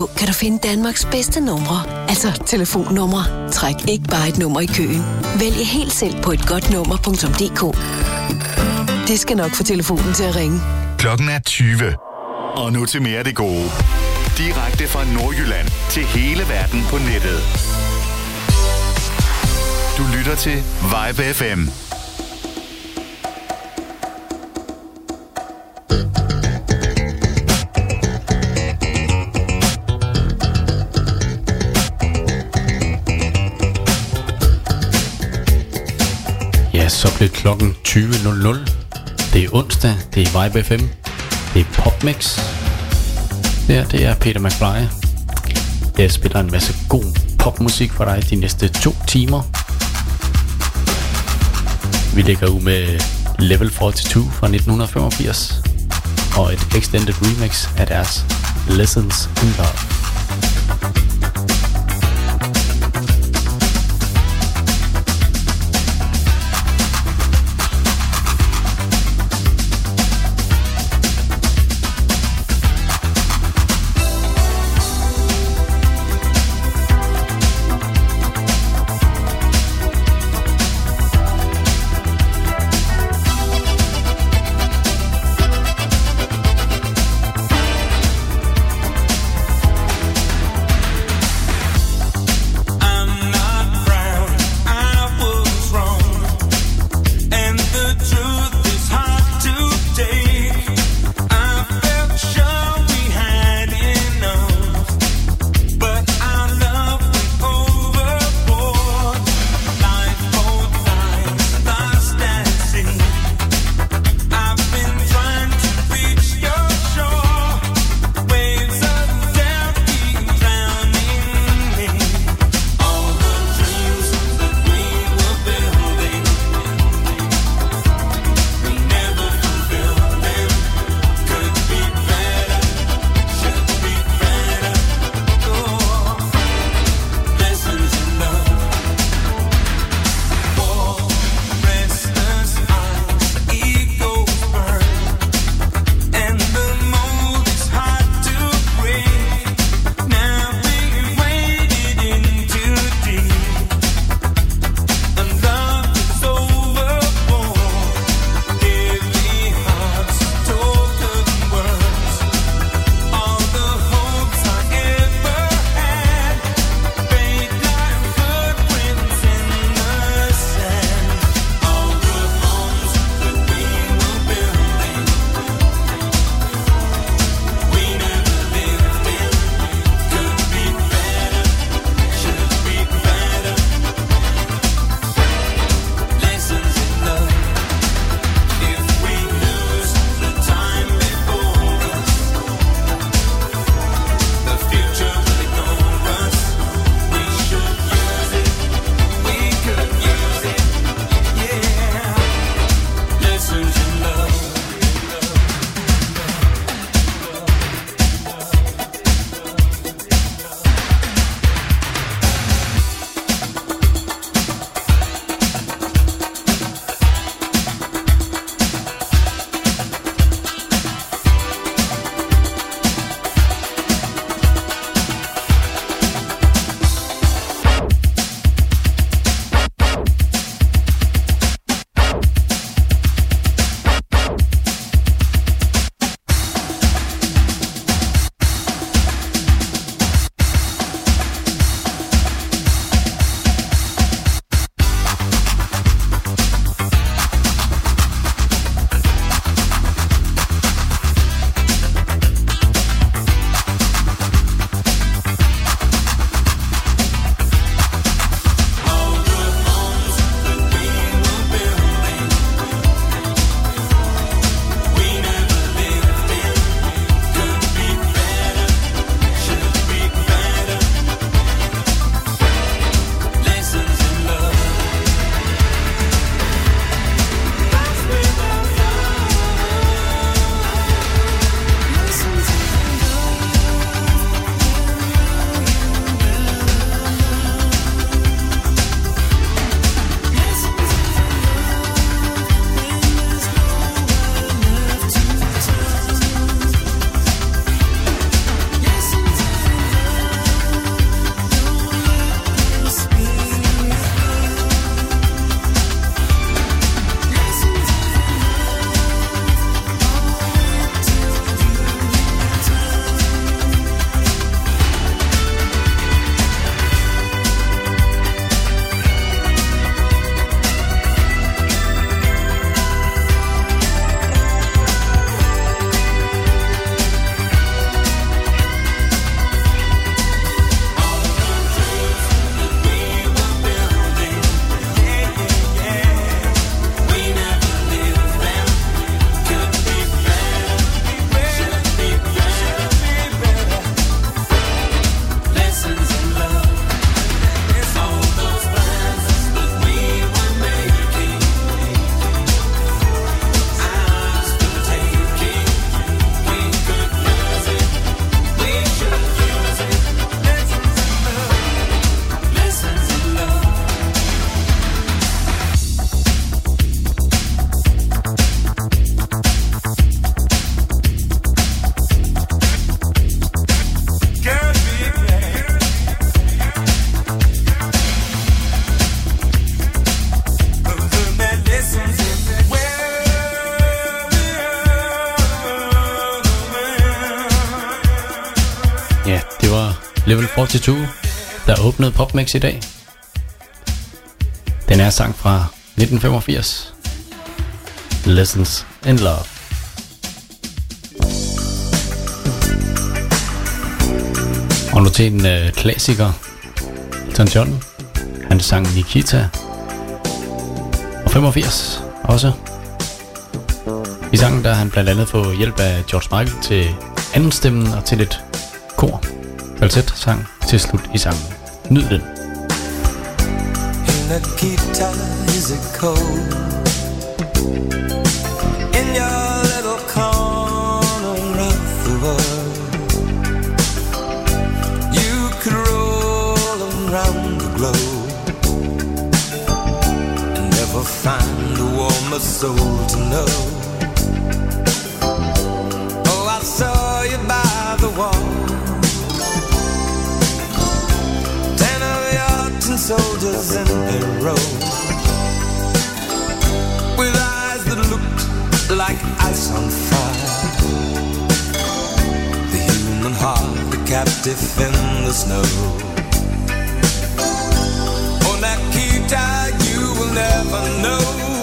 Mobiltelefon kan du finde Danmarks bedste numre. Altså telefonnumre. Træk ikke bare et nummer i køen. Vælg helt selv på etgodtnummer.dk. Det skal nok få telefonen til at ringe. Klokken er 20. Og nu til mere af det gode. Direkte fra Nordjylland til hele verden på nettet. Du lytter til Vibe FM. Ja, så blev klokken 20.00. Det er onsdag, det er Vibe FM, det er PopMix. Det er Peter McFly. Jeg spiller en masse god popmusik for dig de næste 2 timer. Vi ligger ud med Level 42 fra 1985 og et extended remix af deres Lessons in Love. Det var Level 42, der åbnede PopMix i dag. Den er sang fra 1985. Lessons in Love. Og nu til en klassiker. Elton John. Han sang Nikita. Og 85 også. I sangen der han blandt andet fået hjælp af George Michael til anden stemmen og til lidt kor. Falset sang til slut i sangen. Nyd den. Nikita, is it cold in your little corner of the world? You could roll around the globe and never find a warmer soul to know. Oh, I saw you by the wall, 10 of your tin soldiers in a row, with eyes that looked like ice on fire. The human heart, a captive in the snow. Oh, Nikita, you will never know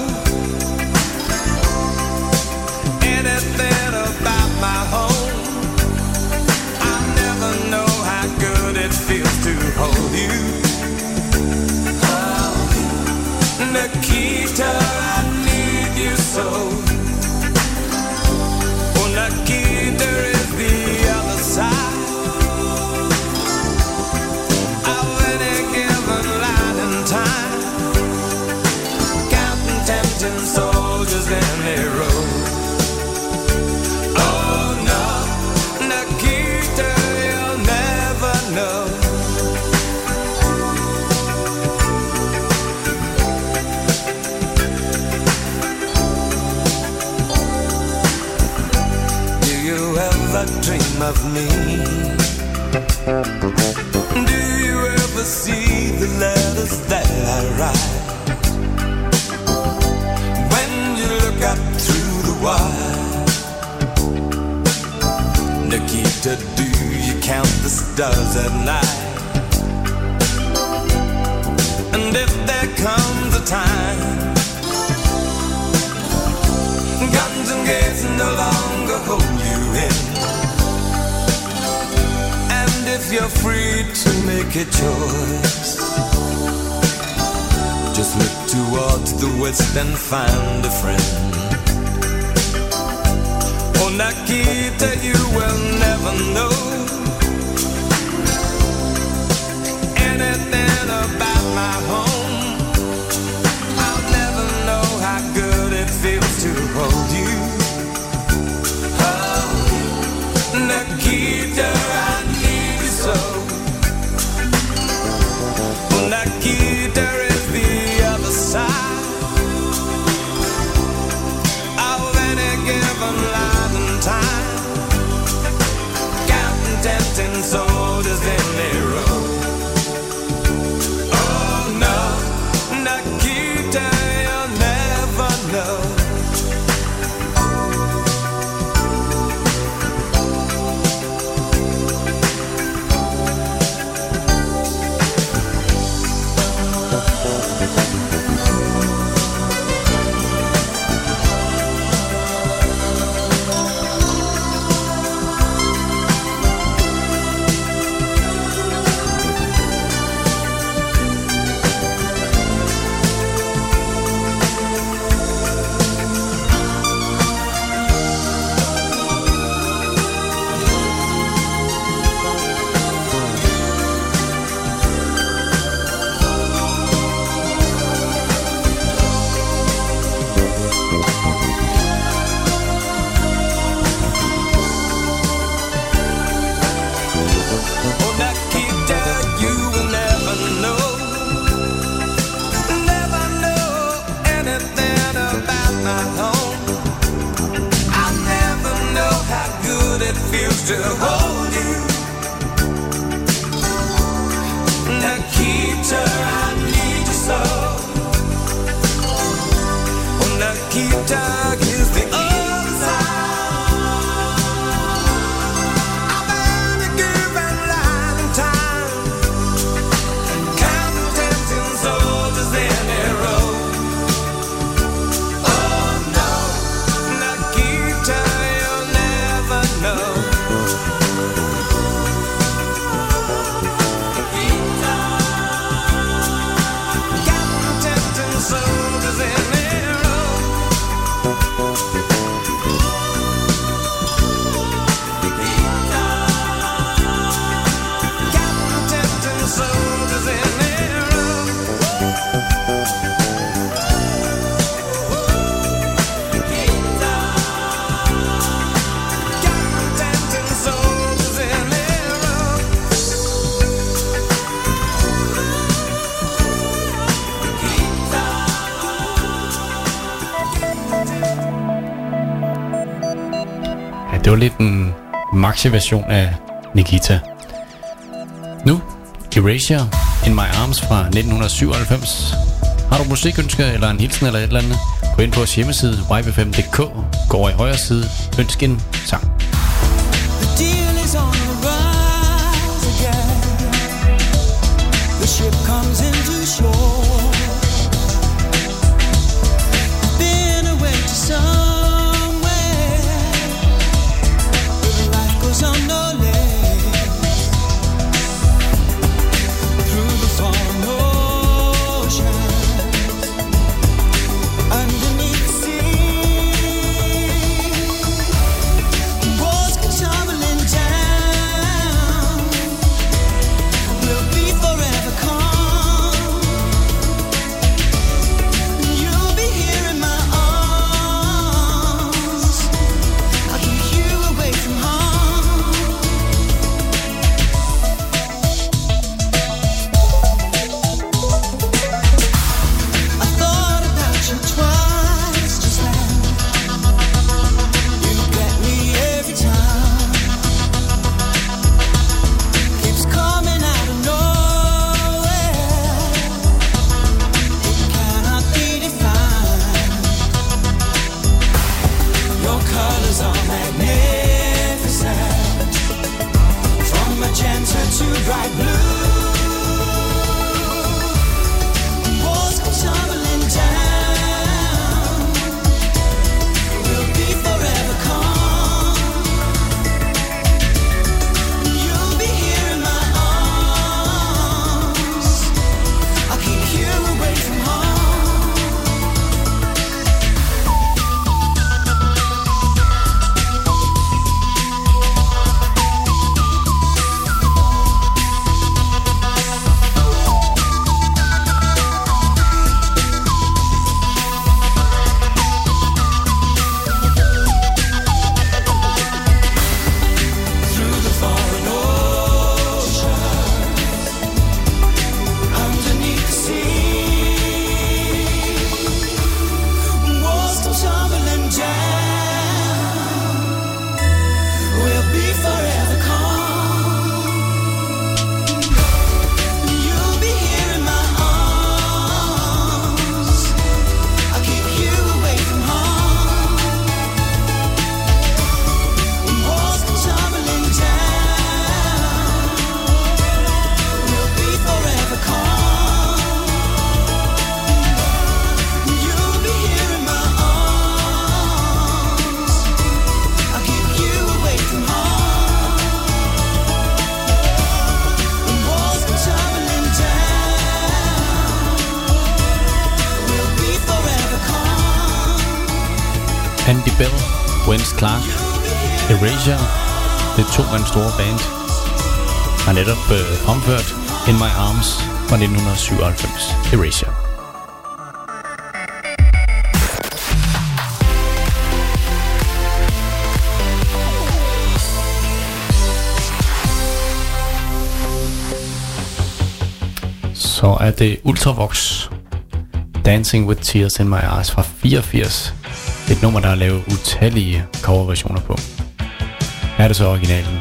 anything about my home. I never know how good it feels to hold you. Nikita, I need you so. Oh, Nikita is the other side of any given line in time, counting tempting soldiers in a row. Oh no, Nikita, you'll never know. Dream of me? Do you ever see the letters that I write? When you look up through the wire, Nikita, do you count the stars at night? And if there comes a time guns and gates no longer hold you in, if you're free to make a choice, just look towards the west and find a friend. Oh, Nikita, you will never know anything about my home. I'll never know how good it feels to hold you. Oh, Nikita, I need you so. Oh, Nikita is the other side of any given line and time, counting tempting soldiers in a row. Oh no, Nikita, you'll never know. var lidt en maxi-version af Nikita. Nu, Erasure, In My Arms fra 1997. Har du musikønsker eller en hilsen eller et eller andet? Gå ind på vores hjemmeside vibe5.dk. Gå over i højre side. Ønsk en sang. The deal is on the rise again. The ship comes into shore. Been away to somewhere where life goes on no less. Through the foreign ocean, underneath the sea, walls come tumbling down. We'll be forever calm. You'll be here in my arms. I'll keep you away from harm. I thought about you twice just then. You get me every time. Keeps coming out of nowhere. It cannot be defined. Your colors are magnificent. From magenta to bright blue. Walls come tumbling down. We'll be forever calm. You'll be here in my arms. I'll keep you away from harm. Through the foreign ocean, underneath the sea, walls come tumbling down. We'll be forever calm. You'll be here in my arms. I'll keep you away from harm. Walls come tumbling down. We'll be forever calm. You'll be here in my arms. I'll keep you away from harm. Walls come tumbling down. We'll be forever calm. Andy Bell, Wens Clark, Erasure. Det er 2 mands store band. Har netop fremført In My Arms fra 1997. Erasure. Så er det Ultravox, Dancing with Tears in My Eyes fra 84. Et nummer, der er lavet utallige coverversioner på. Her er det så originalen.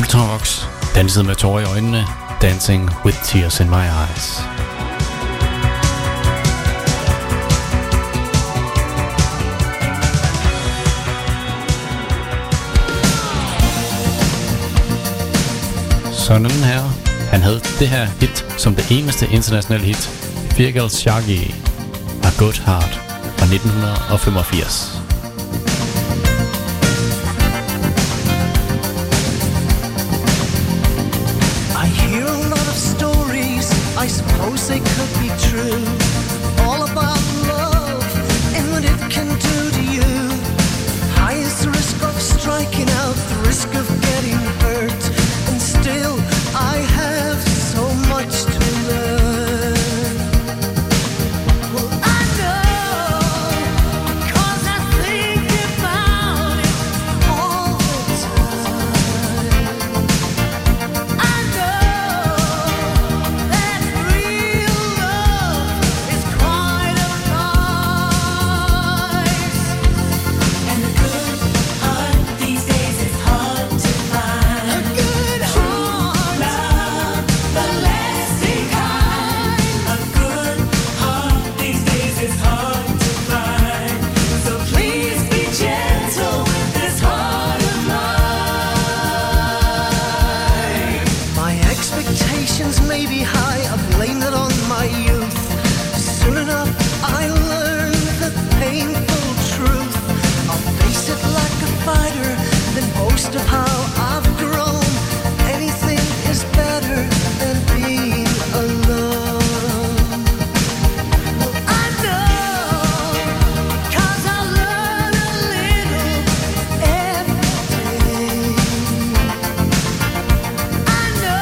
Ultravox, danset med tårer i øjnene, Dancing with Tears in My Eyes. Sådan her. Han havde det her hit som det eneste internationale hit. Feargal Shaggy, A Good Heart fra 1985. I suppose they could be true, all about love and what it can do to you. High is the risk of striking out, the risk of getting hurt, and still I have so much to learn. Well, I know, 'cause I think about it all the time. I know may be high, I blame it on my youth. Soon enough I learn the painful truth. I'll face it like a fighter, then boast of how I've grown. Anything is better than being alone. Well, I know, 'cause I learn a little every day. I know,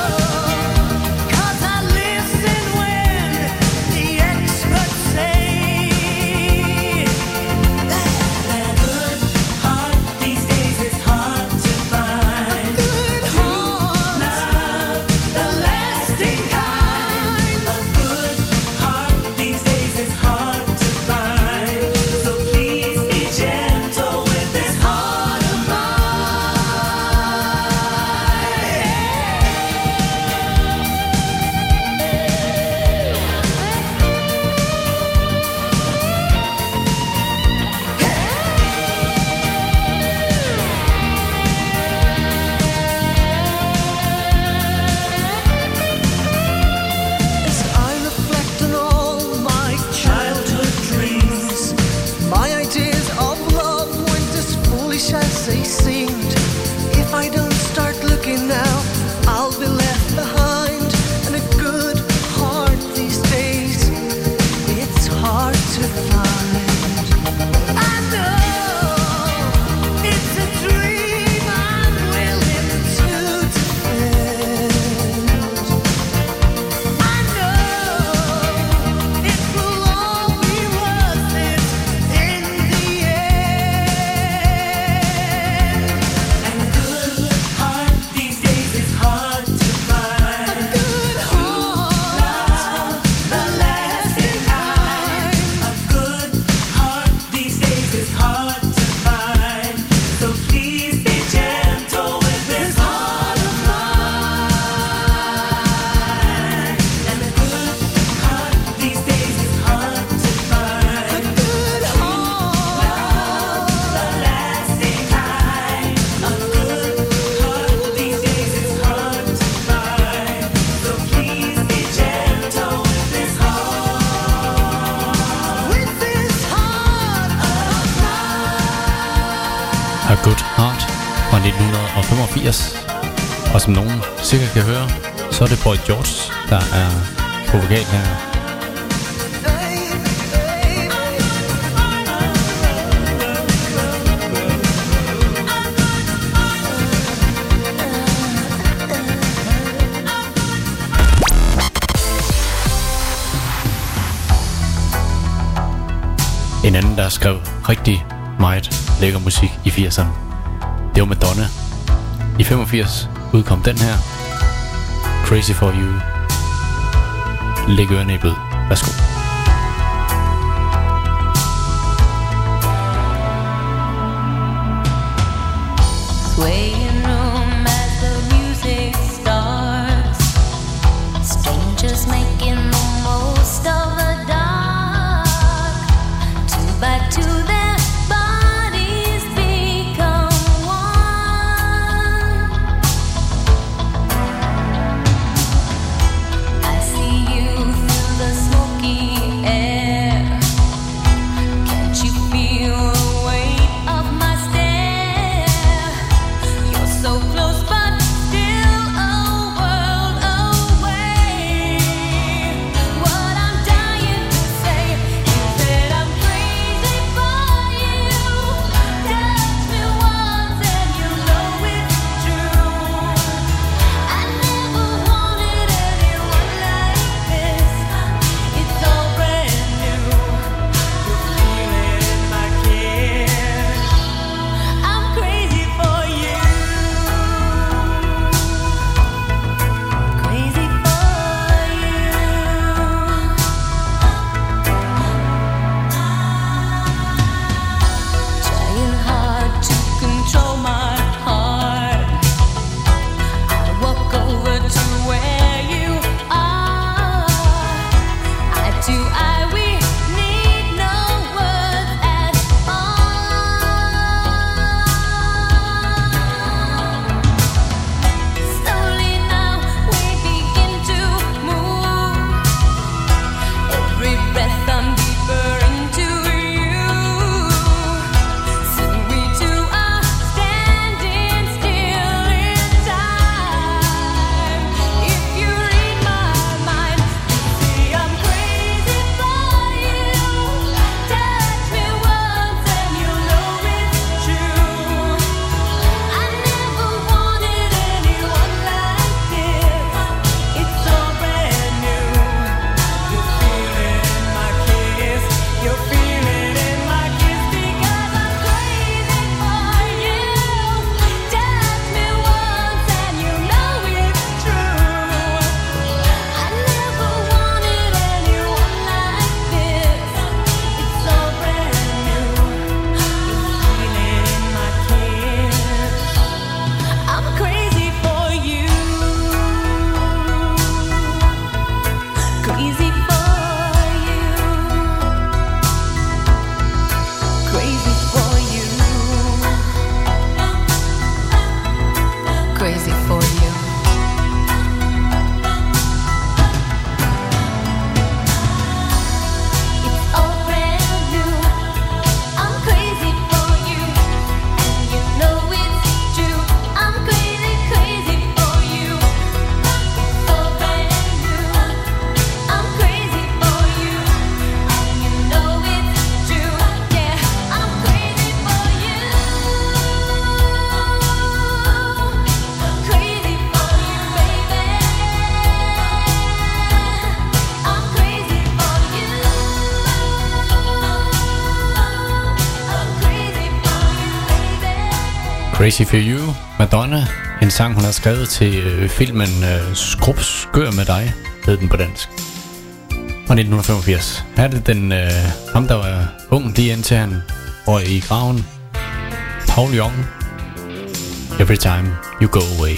A Good Heart fra 1985. Og som nogen sikkert kan høre, så er det Boy George, der er på vokal her. En anden, der skrev rigtig meget lækker musik i 80'erne, det var Madonna. I 85 udkom den her, Crazy for You. Læg ørerne i blød. Værsgo. Swaying room as the Crazy For You, Madonna. En sang, hun har skrevet til filmen Skør med dig, hed den på dansk. Fra 1985. Her er det den, ham der var ung lige indtil han var i graven. Paul Young. Every Time You Go Away.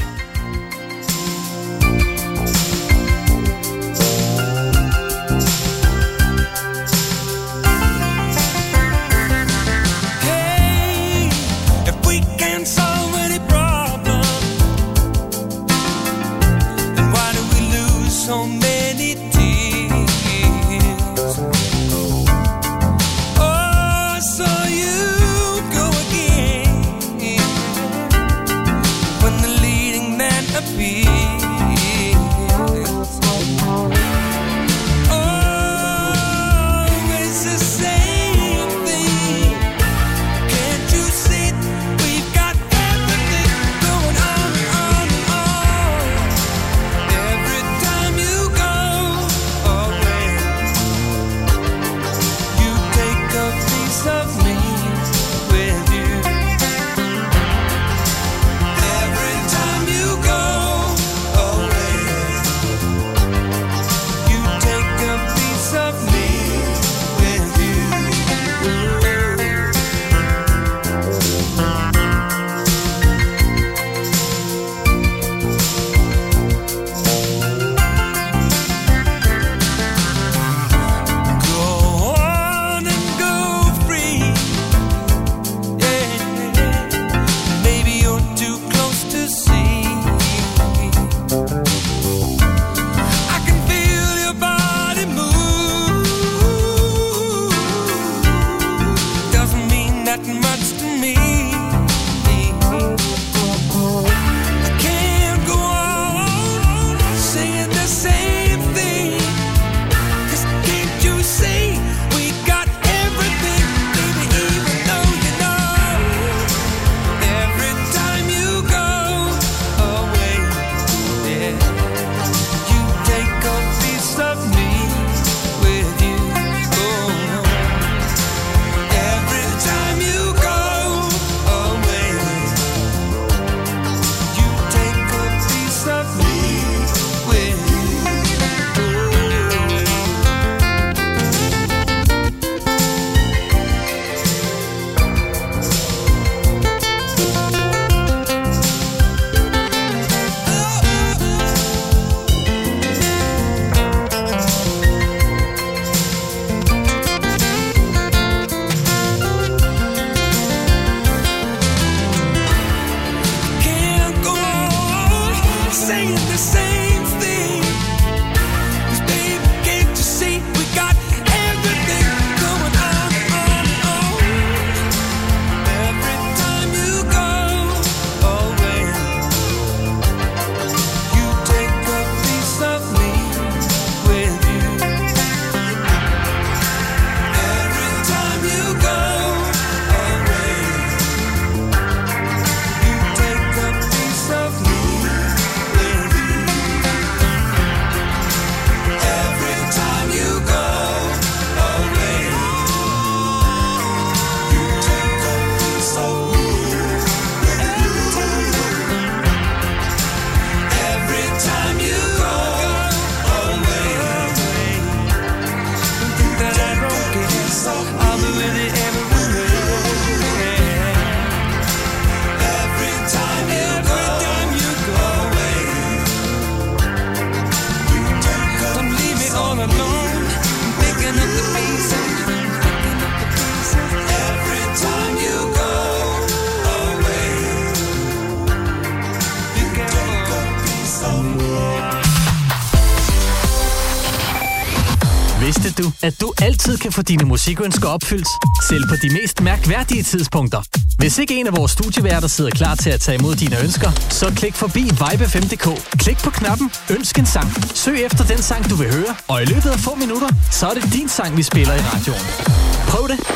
Vidste du, at du altid kan få dine musikønsker opfyldt, selv på de mest mærkværdige tidspunkter? Hvis ikke en af vores studieværter sidder klar til at tage imod dine ønsker, så klik forbi vibe5.dk. Klik på knappen Ønsk en sang. Søg efter den sang, du vil høre, og i løbet af få minutter, så er det din sang, vi spiller i radioen. Prøv det!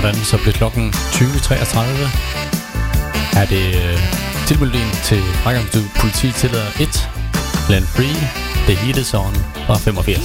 Sådan, så bliver klokken 20.33. Er det tilmelding til Frækkerstudiet Politi tillader 1. Land Free, The Heat Is On fra 85.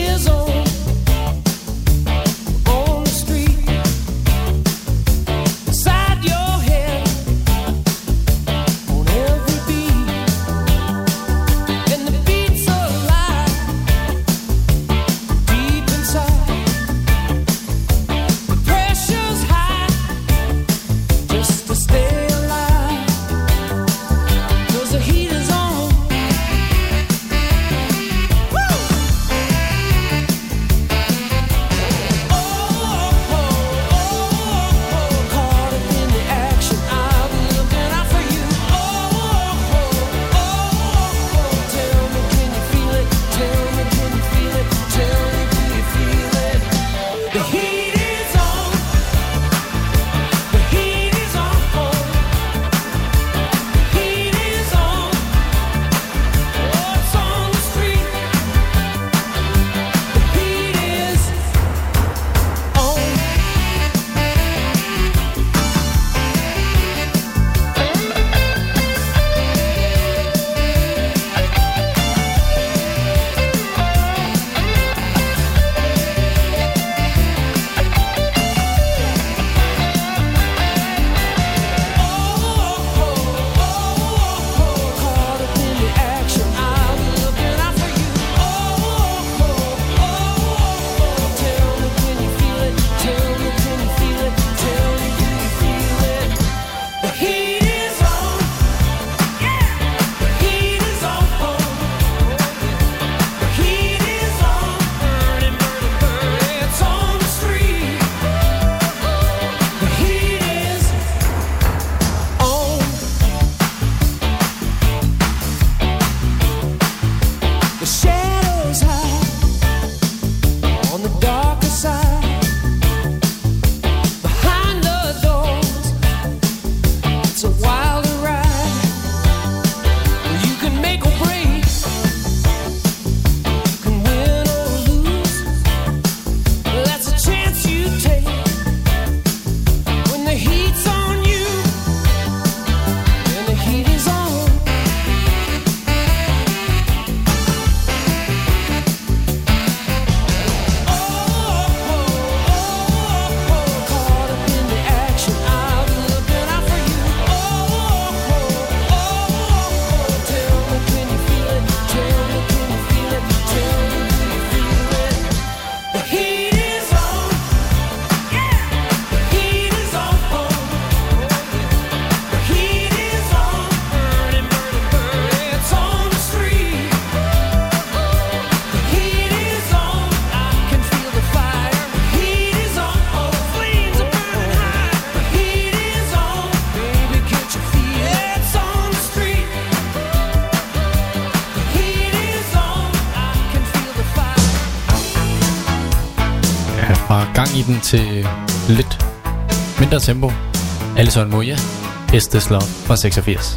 I den til lidt mindre tempo. Alison Moya, Is This Love fra 86.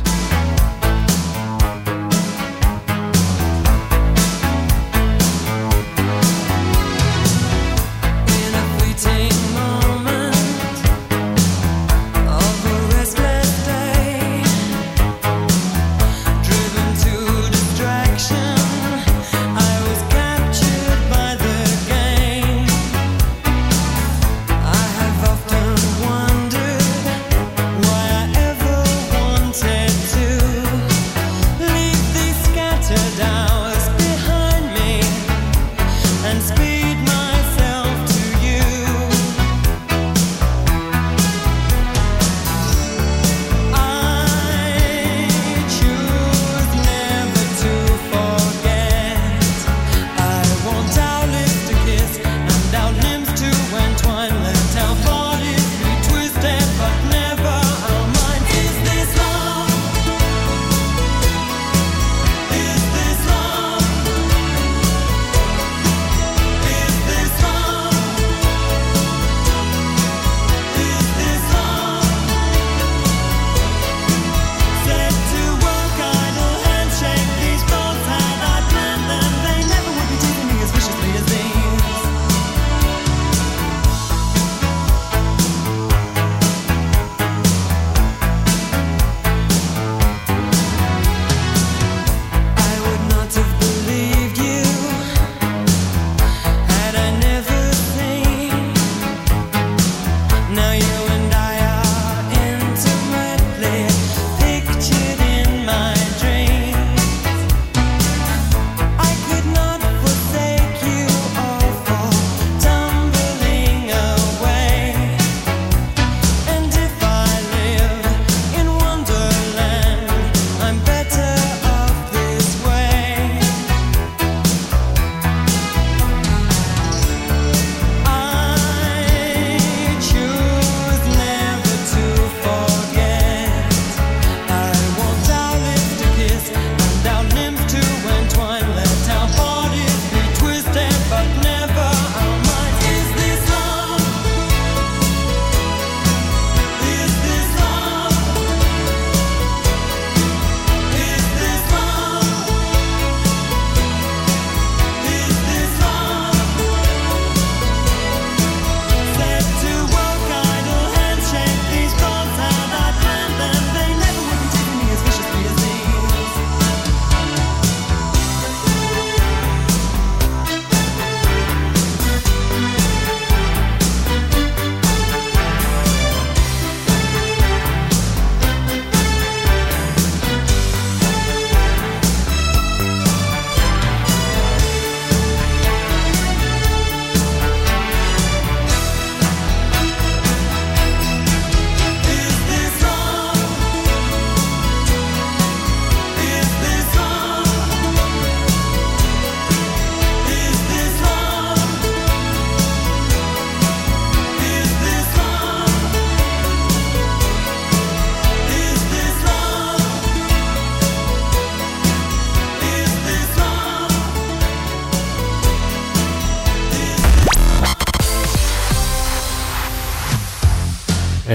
Why I ever wanted to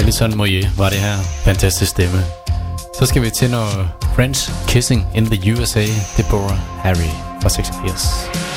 Alison Moyet var det her. Fantastisk stemme. Så skal vi til noget French Kissing in the USA. Deborah Harry fra 86.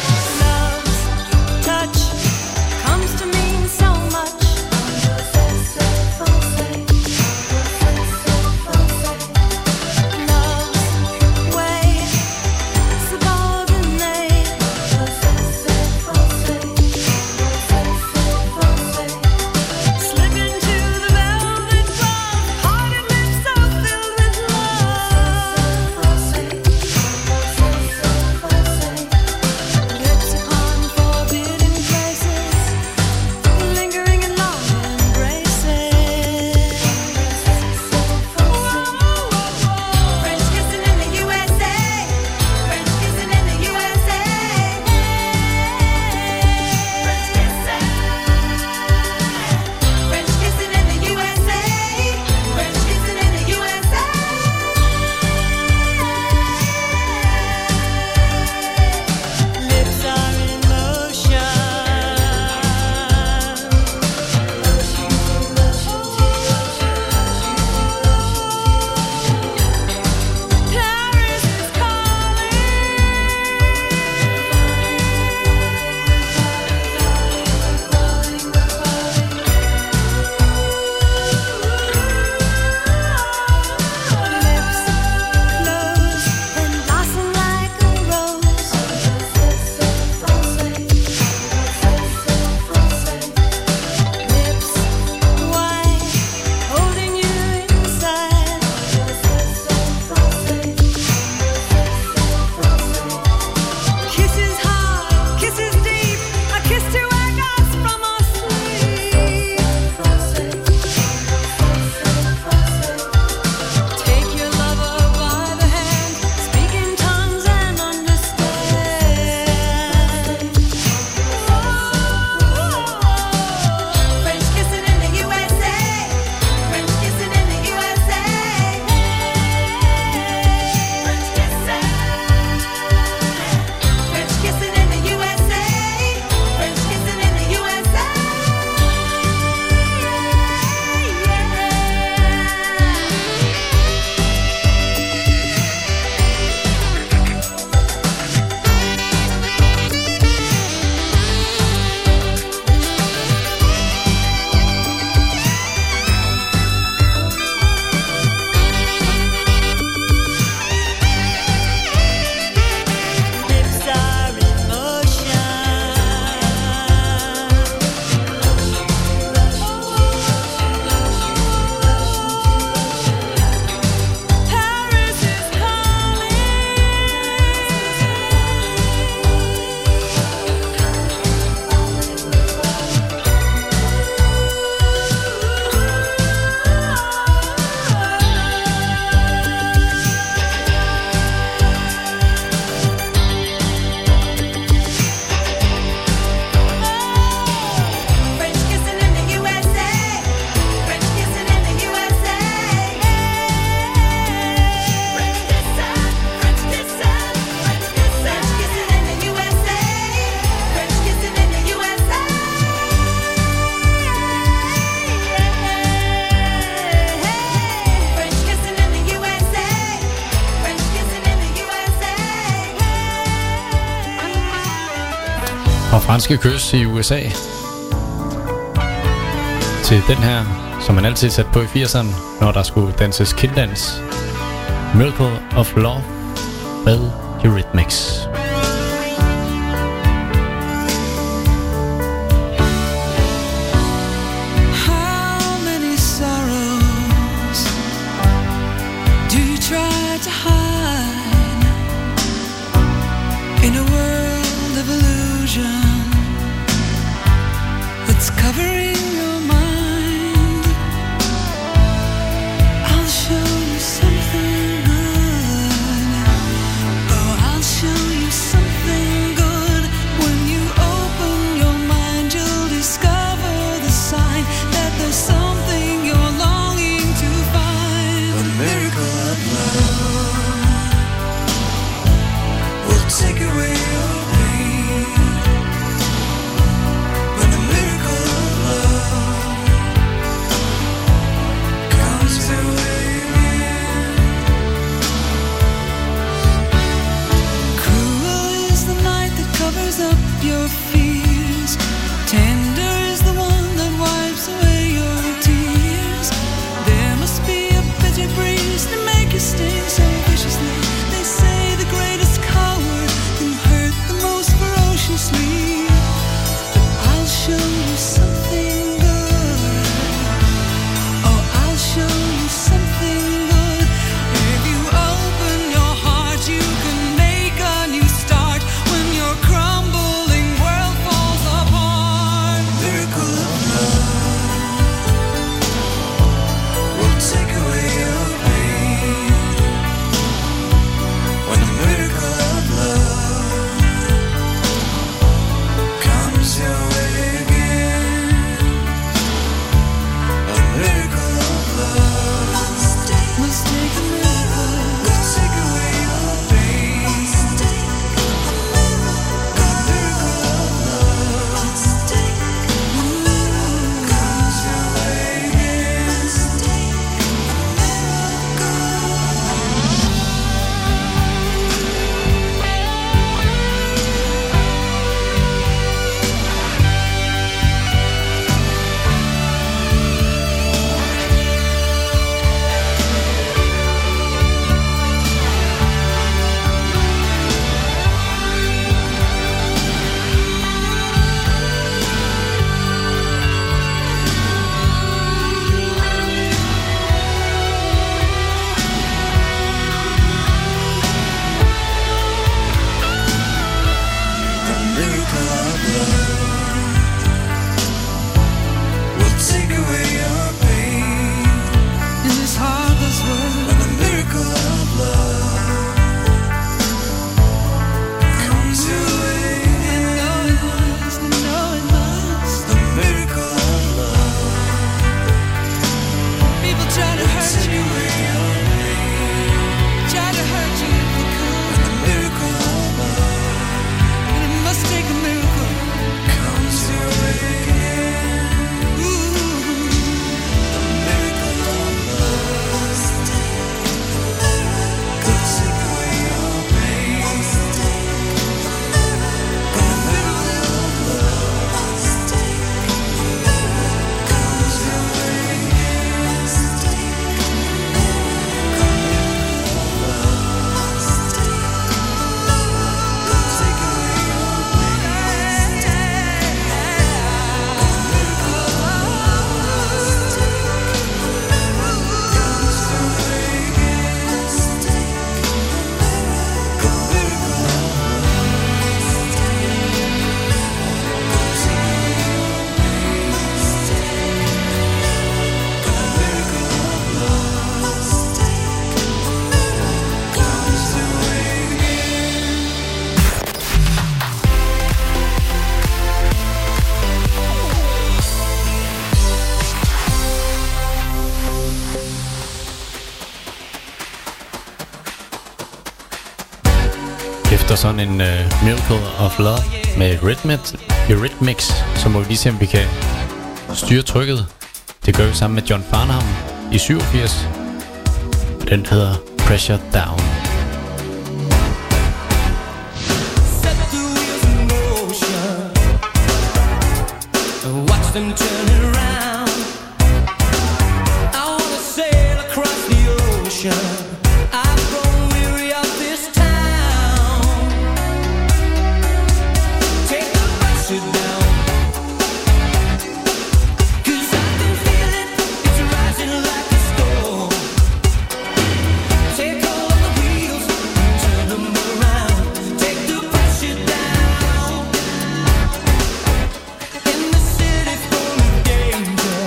Franske kys i USA. Til den her, som man altid satte på i 80'erne, når der skulle danses kinddans. Miracle of Love med Eurythmics. Miracle of love. Efter sådan en Miracle of Love med Eurythmics, så må vi lige se, om vi kan styre trykket. Det gør vi sammen med John Farnham i 87. Den hedder Pressure Down. Set the wheels in motion, watch them turn around. I wanna sail across the ocean. I've grown weary of this town. Take the pressure down, 'cause I can feel it, it's rising like a storm. Take all of the wheels and turn them around. Take the pressure down. In the city full of danger,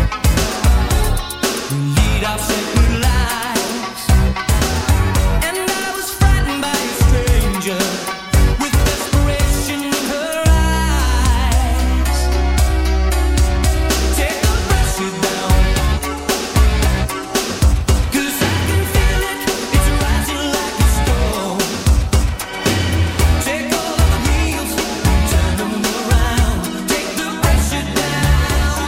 we lead our sacred lives. And I was frightened by a stranger with desperation in her eyes. Take the pressure down, 'cause I can feel it, it's rising like a storm. Take all of the wheels and turn them around. Take the pressure down.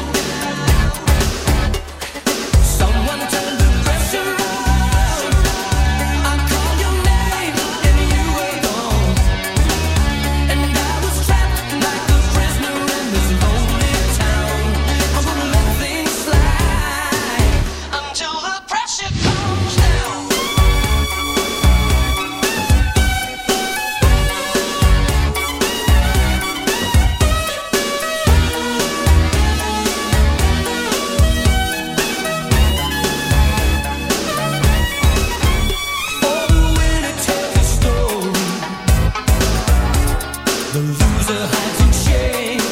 Someone turn the pressure on. I call your name and you were gone. And I was trapped like a prisoner in this lonely town. I'm gonna let things slide until the pressure comes down. For the winner tells a story, the loser hides in shame.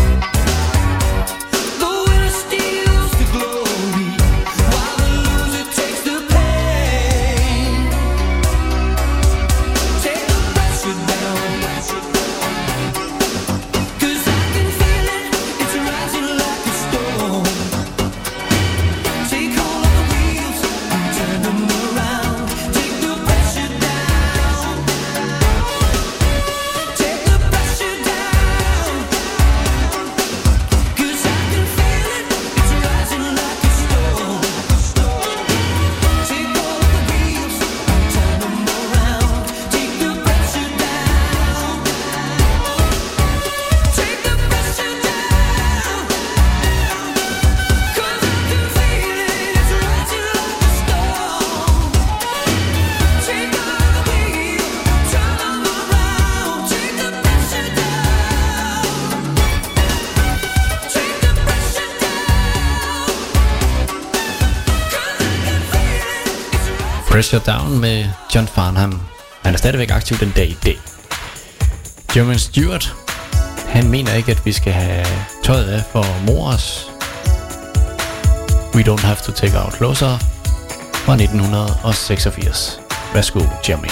The winner steals the glory, while the loser takes the pain. Take the pressure down, 'cause I can feel it, it's rising like a storm. Take hold of the wheels and turn them around. Take the pressure down. Take the pressure down, 'cause I can feel it, it's rising like a storm. Take hold of the wheels and turn them around. Take the pressure down. Take the pressure down, 'cause I can feel it, it's rising like a storm. Take all of the wheels, turn them around. Take the pressure down. Take the pressure down, 'cause I can feel it, it's rising. Pressure Down med John Farnham. Han er stadigvæk aktiv den dag i dag. Jermaine Stewart, han mener ikke, at vi skal have tøjet af for mors. We Don't Have To Take Our Clothes Off fra 1986. Værsgo, Jermaine.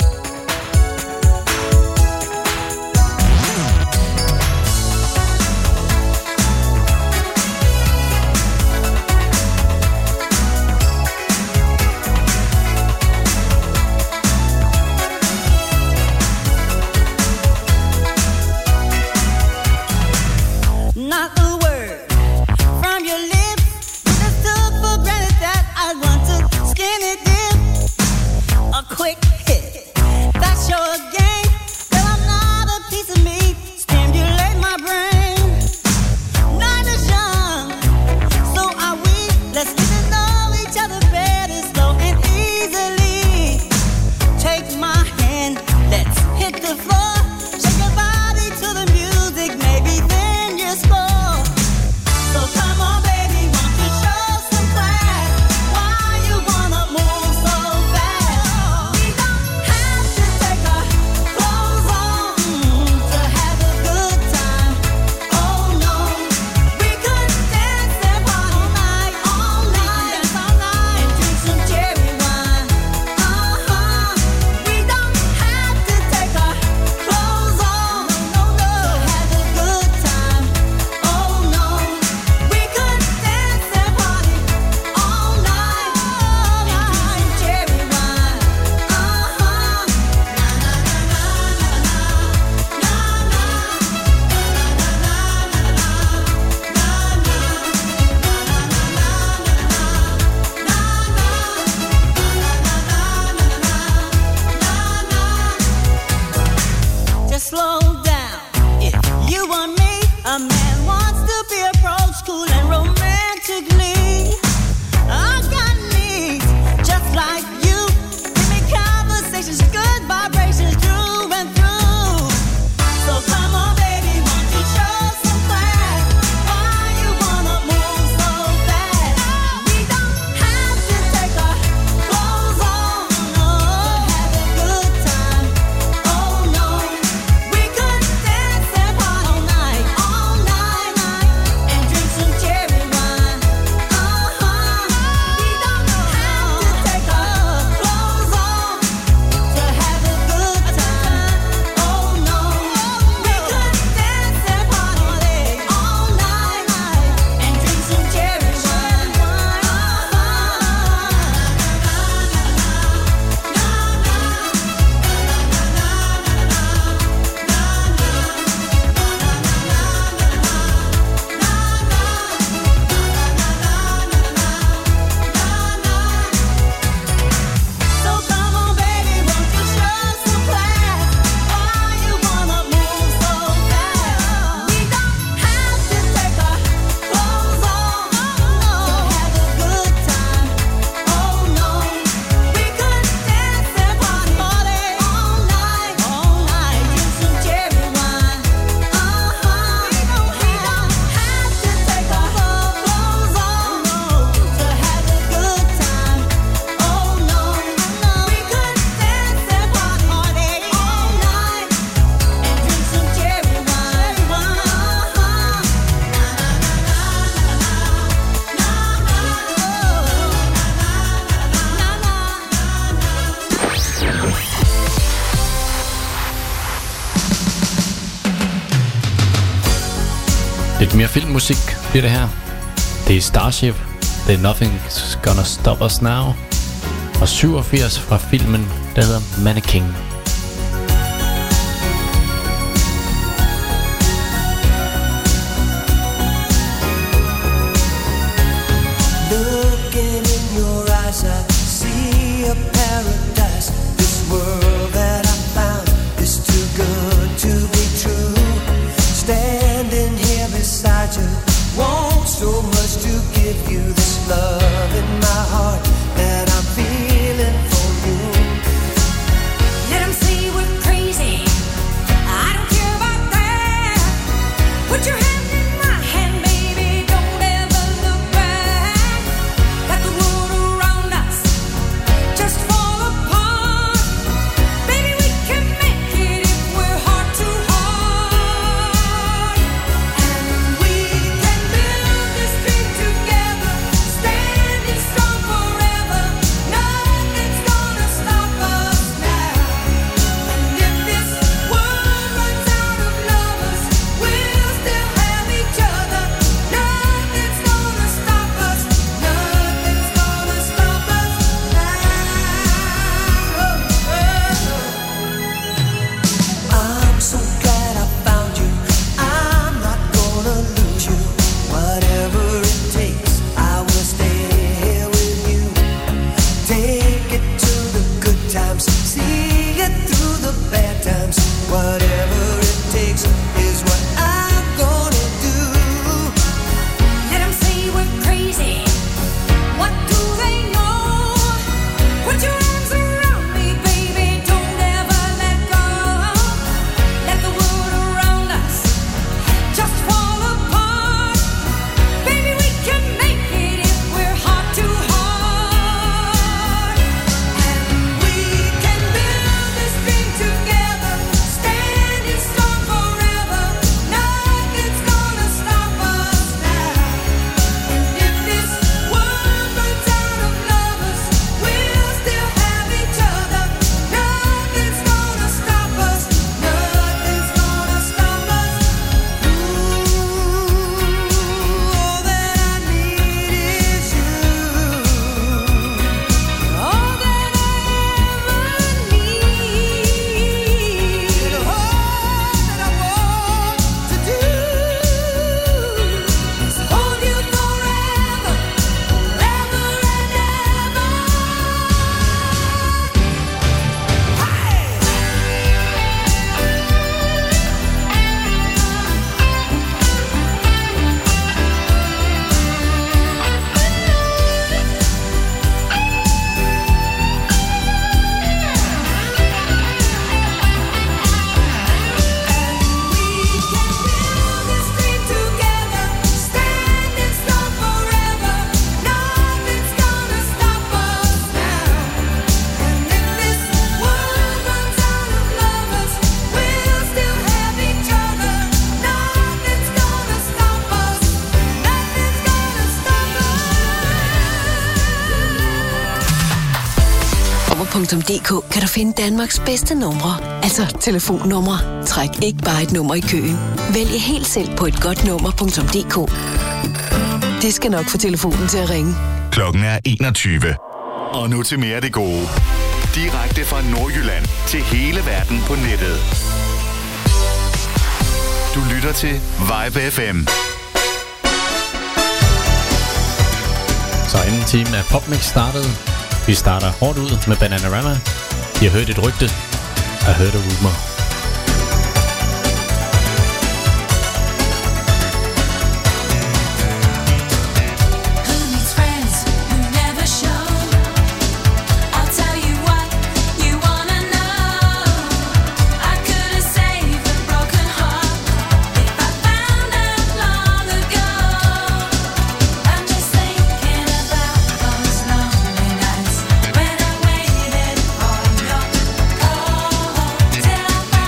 Not a word from your lips. Just took for granted that I want to skinny dip. A quick hit Lidt mere filmmusik bliver det her. Det er Starship. Det er Nothing's Gonna Stop Us Now. Og 87 fra filmen, der hedder Mannequin. Looking in your eyes, I see a paradise. This world that I found is too good to be true. Standing here beside you, want so much to give you this love in my heart that I'm feeling for you. Let 'em say we're crazy. I don't care about that. Put your hand in my hand, baby. Don't ever look back. Let the world around us just fall apart. Baby, we can make it if we're heart to heart. And we can build this dream together, standing strong forever. Nothing's gonna stop us now. And if this world runs out of lovers, we'll still have each other. Nothing's gonna stop us. Nothing's gonna stop us now. I'm so glad I found you. I'm not gonna lose you. Whatever it takes, I will stay here with you. Take it to the good times, see it through the bad times. Whatever it takes is what I'm gonna do. Let 'em say we're crazy. What do they know? Put your arms around me, baby. Don't ever let go. Let the world around us just fall apart. Baby, we can make it if we're heart to heart. And we can build this dream together, standing strong forever. Nothing's gonna stop us now. And if this world runs out of lovers, we'll still have each other. Nothing's gonna stop us. Nothing's gonna stop us. All that I need is you. All that I ever need. And all that I want to do is hold you forever, forever and ever. This dream together, standing strong forever. Nothing's gonna stop us now. And if this world runs out of lovers, we'll still have each other. Nothing's gonna stop us. Nothing's gonna stop us. Nummer.dk kan du finde Danmarks bedste numre, altså telefonnumre. Træk ikke bare et nummer i køen. Vælg helt selv på et godt nummer.dk. Det skal nok få telefonen til at ringe. Klokken er 21. Og nu til mere af det gode. Direkte fra Nordjylland til hele verden på nettet. Du lytter til Vibe FM. Så anden time af PopMix startede. Vi starter hårdt ud med Bananarama. I har hørt et rygte. I heard a rumor. Who needs friends who never show? I'll tell you what you wanna know. I could have saved a broken heart if I found out long ago. I'm just thinking about those lonely nights when I waited for your call till I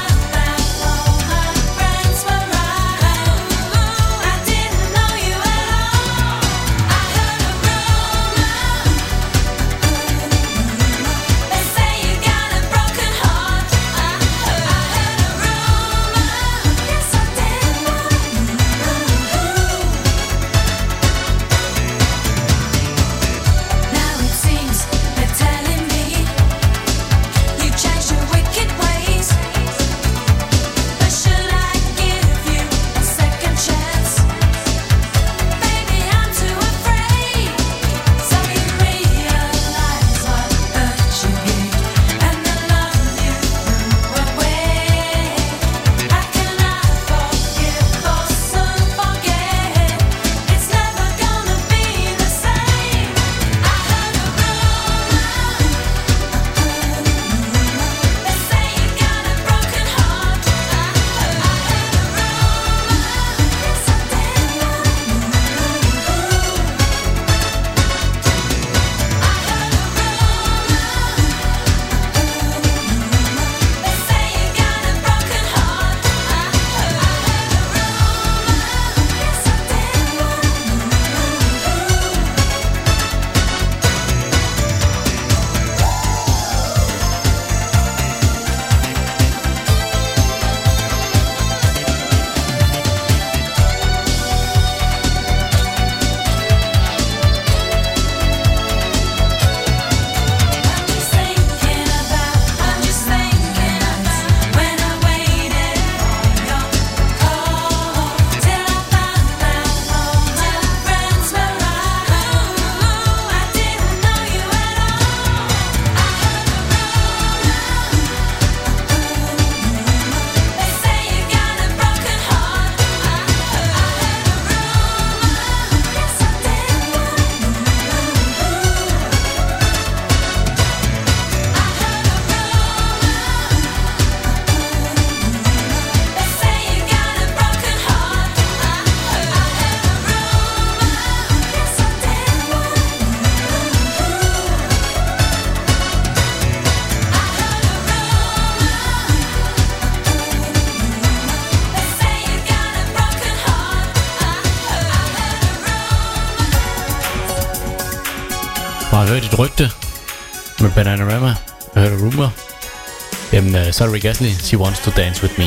har hørt et rygte med Bananarama. Jeg hørte rumor. Jamen, så er det Rick Astley. She wants to dance with me.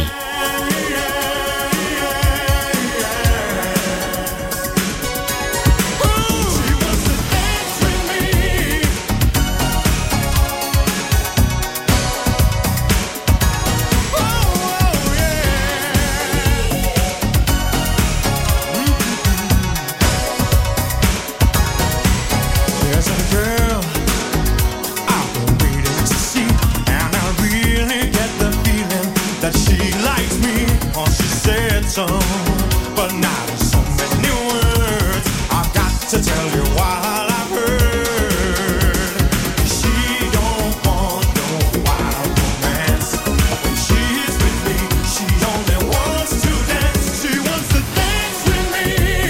There's a girl I've been waiting to see, and I really get the feeling that she likes me, or she said so, but not in so many words. I've got to tell you what I've heard. She don't want no wild romance. When she's with me, she only wants to dance. She wants to dance with me,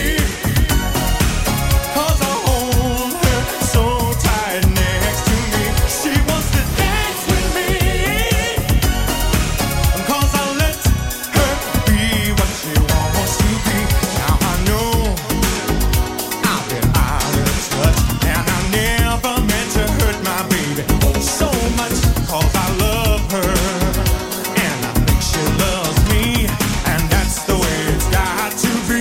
'cause I hold her so tight next to me. She wants to dance with me, 'cause I let her be what she wants to be. Now I know I've been out of touch, and I never meant to hurt my baby so much, 'cause I love her, and I think she loves me, and that's the way it's got to be.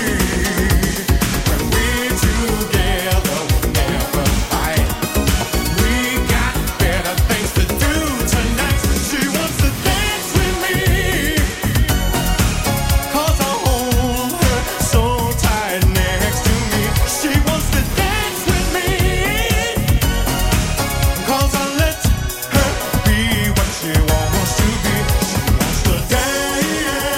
When we're together, we never fight. We got better things to do tonight. She wants to dance with me, 'cause I hold her so tight next to me. She wants to dance with me, 'cause I let her be what she wants to be. She wants to dance.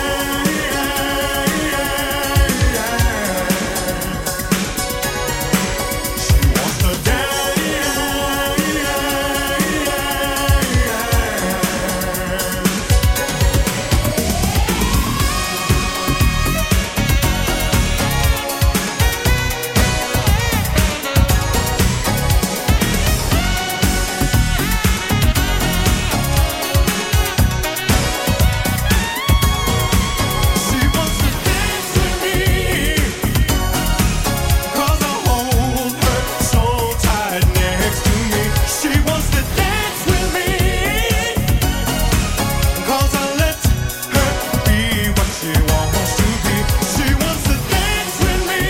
She wants to She wants to dance with me, 'cause I hold her so tight next to me. She wants to dance with me, 'cause I let her be what she wants to be. She wants to dance with me,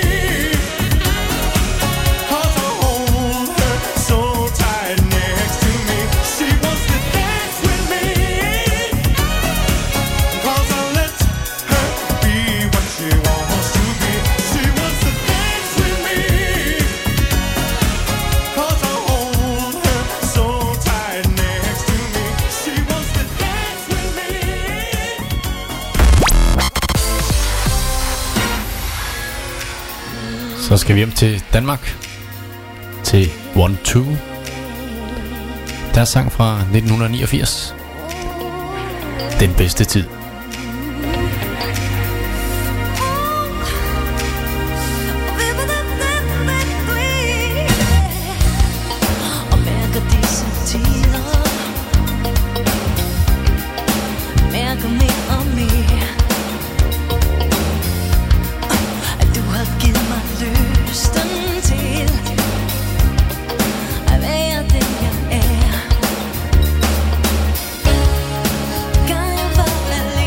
'cause I hold her so tight next to me. She wants to dance with me, 'cause I let her be what she wants to be. She wants to dance with me, 'cause I hold her so tight next to me. She wants to dance with me. Så skal vi hjem til Danmark. Til 1-2. Deres sang fra 1989. Den bedste tid. Og mærker disse tider, mærker mere og mere, at du har givet mig lysten til at være den jeg er. Kan jeg være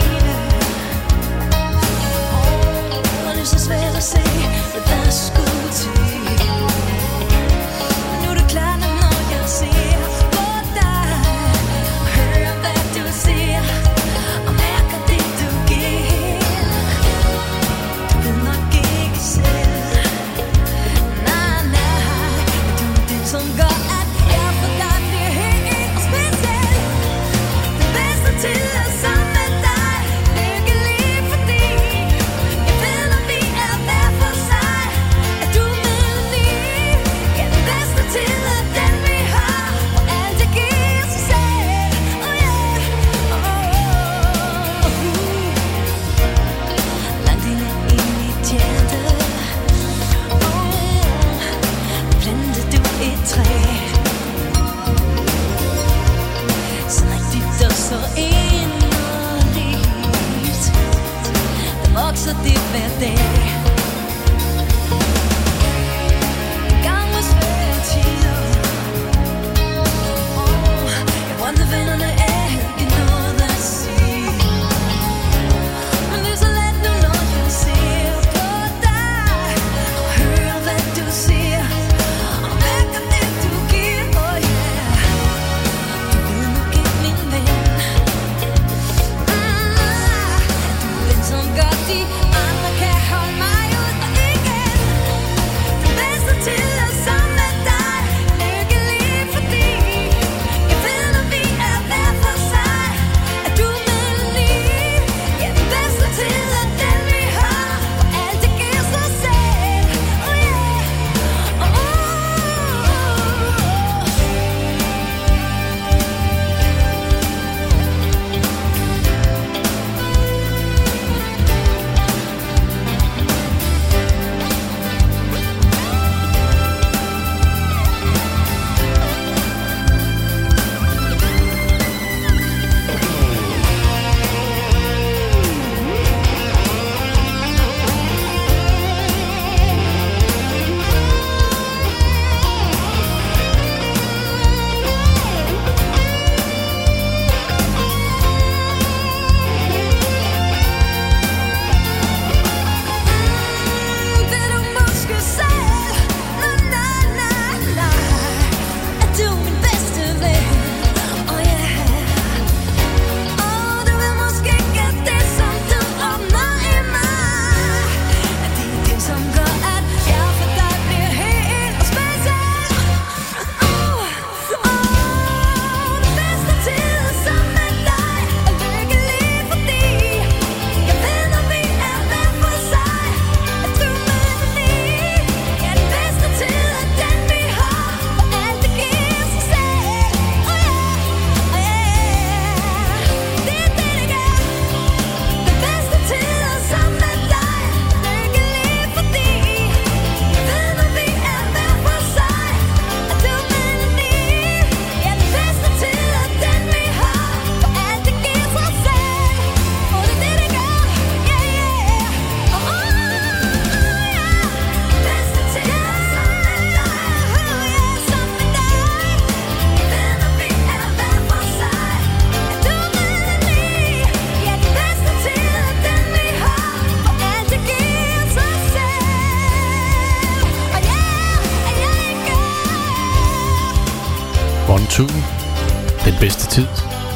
bedste tid.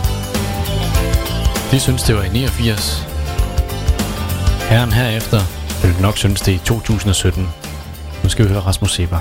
De synes, det var i 89. Herren herefter vil nok synes, det er i 2017. Nu skal vi høre Rasmus Seebach.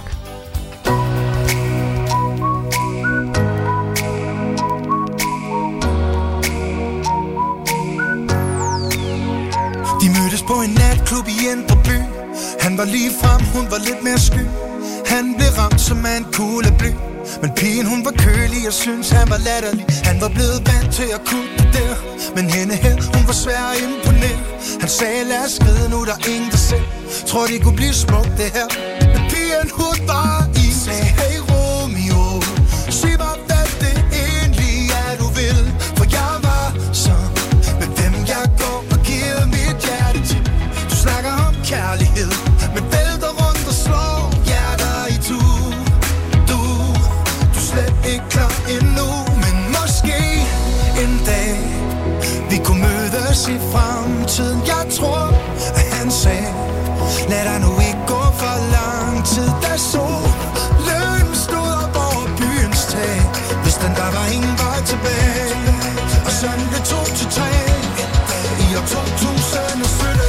De mødtes på en natklub i Indre By. Han var lige frem, hun var lidt mere sky. Han blev ramt som af en kugle bly. Men pigen hun var kølig og syntes han var latterlig. Han var blevet vant til at kunne det der. Men hende her, hun var svær at imponere. Han sagde lad os skride nu, der er ingen der ser. Tror det kunne blive smukt det her. Men pigen hun var i. Sagde hey Romeo, sig mig hvad det egentlig er du vil. For jeg var så med hvem jeg går og giver mit hjerte til. Du snakker om kærlighed, men vælter rundt og slår hjerter i tu. Du slet ikke klar endnu, men måske en dag vi kunne mødes i fremtiden. Jeg tror, at han sagde, lad dig nu ikke gå for lang tid. Da solen stod op over byens tag, hvis den der var ingen vej tilbage. Og sådan blev 2 til 3 i år 2017.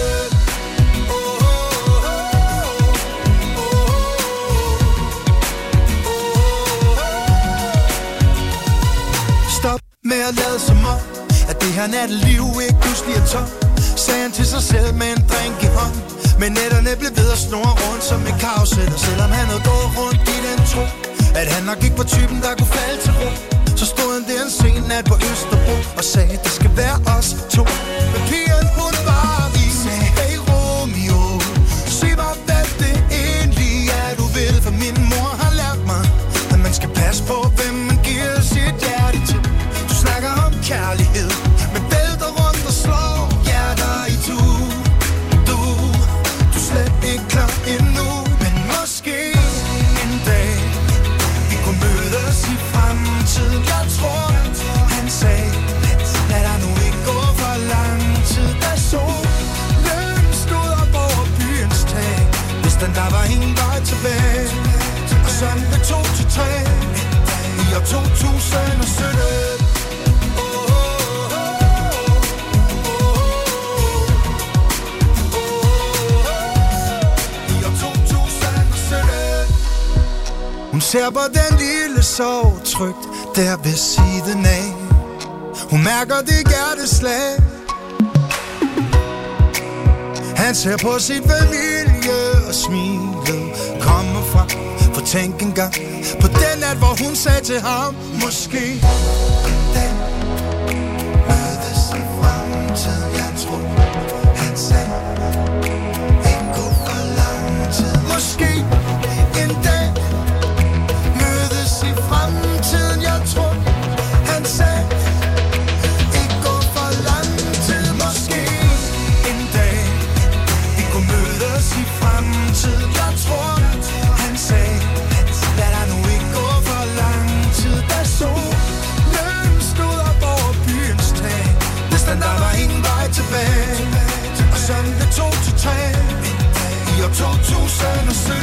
Stop med at lade som om, at det her natteliv ikke pludselig er tom, sagde han til sig selv med en drink i hånden. Men nætterne blev ved at snurre rundt som en karusel. Og selvom han havde gået rundt i den tro, at han nok ikke var typen, der kunne falde til ro, så stod han der en sen nat på Østerbro og sagde, det skal være os to. Men pigen hun var i. Sagde, hey Romeo, sig mig hvad det egentlig er du vil. For min mor har lært mig, at man skal passe på hvem man giver sit hjerte til. Du snakker om kærlighed, men vælter rundt og slår hjerter i tu. Du slet ikke klar endnu, men måske en dag vi kunne mødes i fremtiden. Jeg tror, han sagde, lad dig nu ikke gå for lang tid. Da solen stod op over byens tag, hvis den der var ingen vej tilbage. Og sådan blev 2 til 3 i år 2017. Hun ser på den lille sorg trygt der ved siden af. Hun mærker det hjerteslag. Han ser på sin familie og smilet kommer frem. For tænk engang på den nat, hvor hun sagde til ham, måske den mødes i fremtiden. Jeg tror, han sagde, ikke gå for lang tid. Måske en dag i fremtiden, jeg tror, han sagde, ikke gå for lang tid. Måske en dag vi kunne mødes i fremtiden. Jeg tror, han sagde, lad dig nu ikke gå for lang tid. Da solen stod op over byens tag, hvis den der var ingen vej tilbage. Og sådan blev 2 til 3 i år 2017.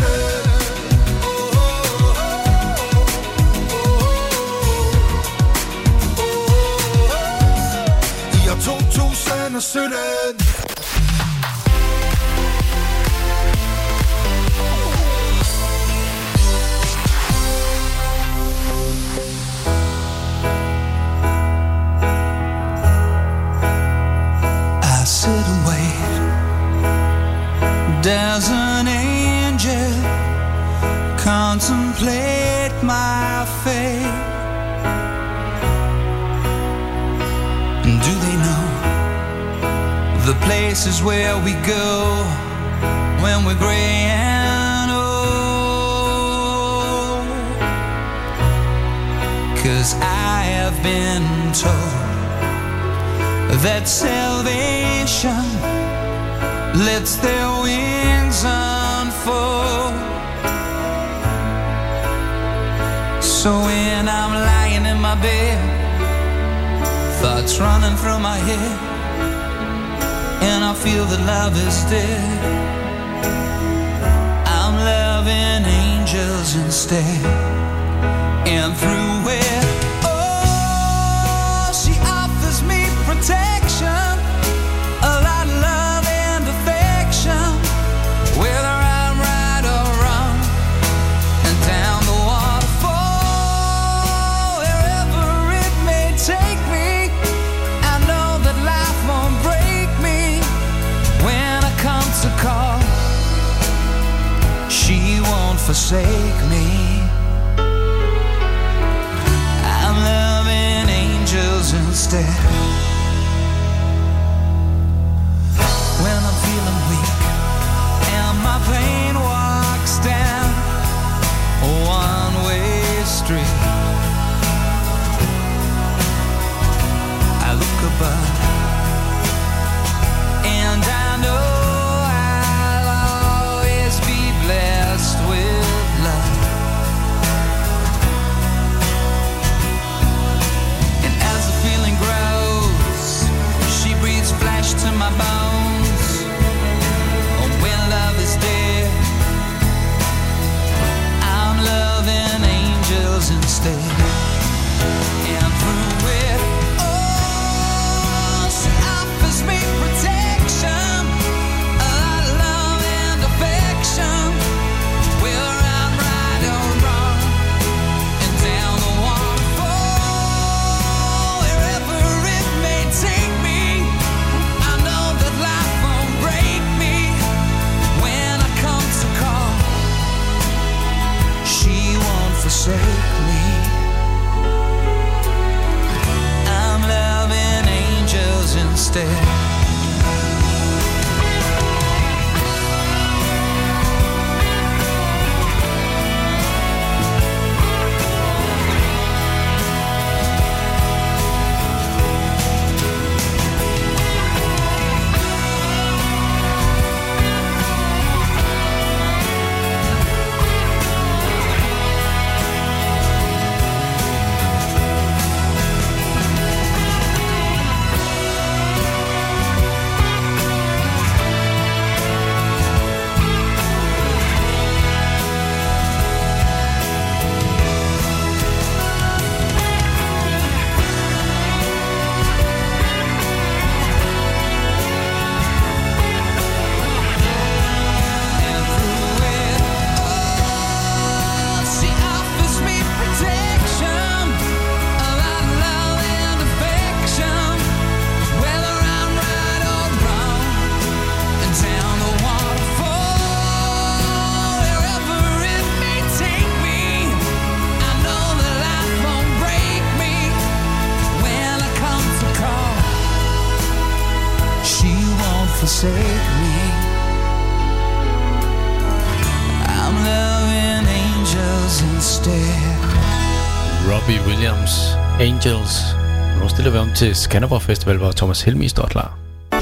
I sit and wait. There's an angel contemplate my fate. And do they know the places where we go when we're gray and old? 'Cause I have been told that salvation lets their wings unfold. So when I'm lying in my bed, thoughts running through my head, and I feel that love is dead, I'm loving angels instead. And through it all, protection, a lot of love and affection, whether I'm right or wrong, and down the waterfall, wherever it may take me, I know that life won't break me when I come to call. She won't forsake me. I'm loving angels instead. When I'm feeling weak and my pain walks down a one-way street, I look above and I know I'll always be blessed with love. And as the feeling grows, she breathes flesh to my bones. Oh, when love is dead, I'm loving angels instead. And through it all, she offers me protection, a lot of love and affection, whether I'm right or wrong, and down the waterfall, wherever it may take me, I know that life won't break me when I come to call. She won't forsake me. I'm loving angels instead. And through it all, she offers me protection, a lot of love and affection, whether I'm right or wrong, and down the waterfall, wherever it may take me, I know that life won't break me when I come to call. She won't forsake me. I'm loving angels instead. Robbie Williams, Angels. Nu stiller vi om til Skanderborg Festival, hvor Thomas Helmig står klar.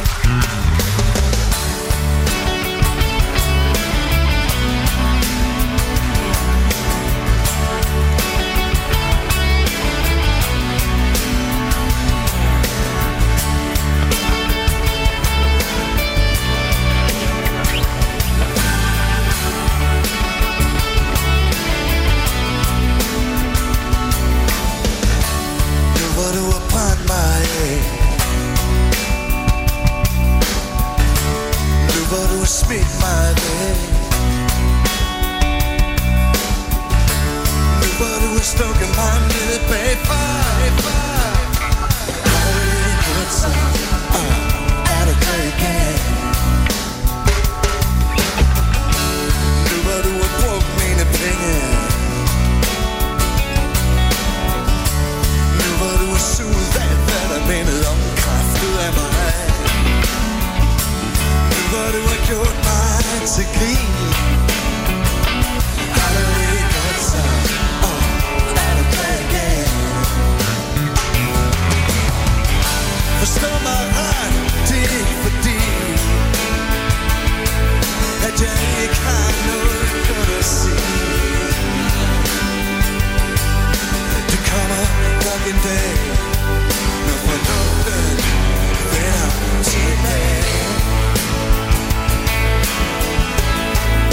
Nu hvor du har brændt mig af, nu hvor du har smidt mig væk, nu hvor du har stukket mig ned bagfra, har du ikke hørt så, er du glad igen? Nu hvor du har brugt mine penge, nu hvor du har suget af, hvad der mindede om kraftet af mig, nu hvor du har gjort mig til grin, har du ikke hørt så, er du glad igen? Forstå mig ret, det er ikke fordi, at jeg ikke har noget godt at sige. Det kommer nok en dag, når fornuften vender tilbage.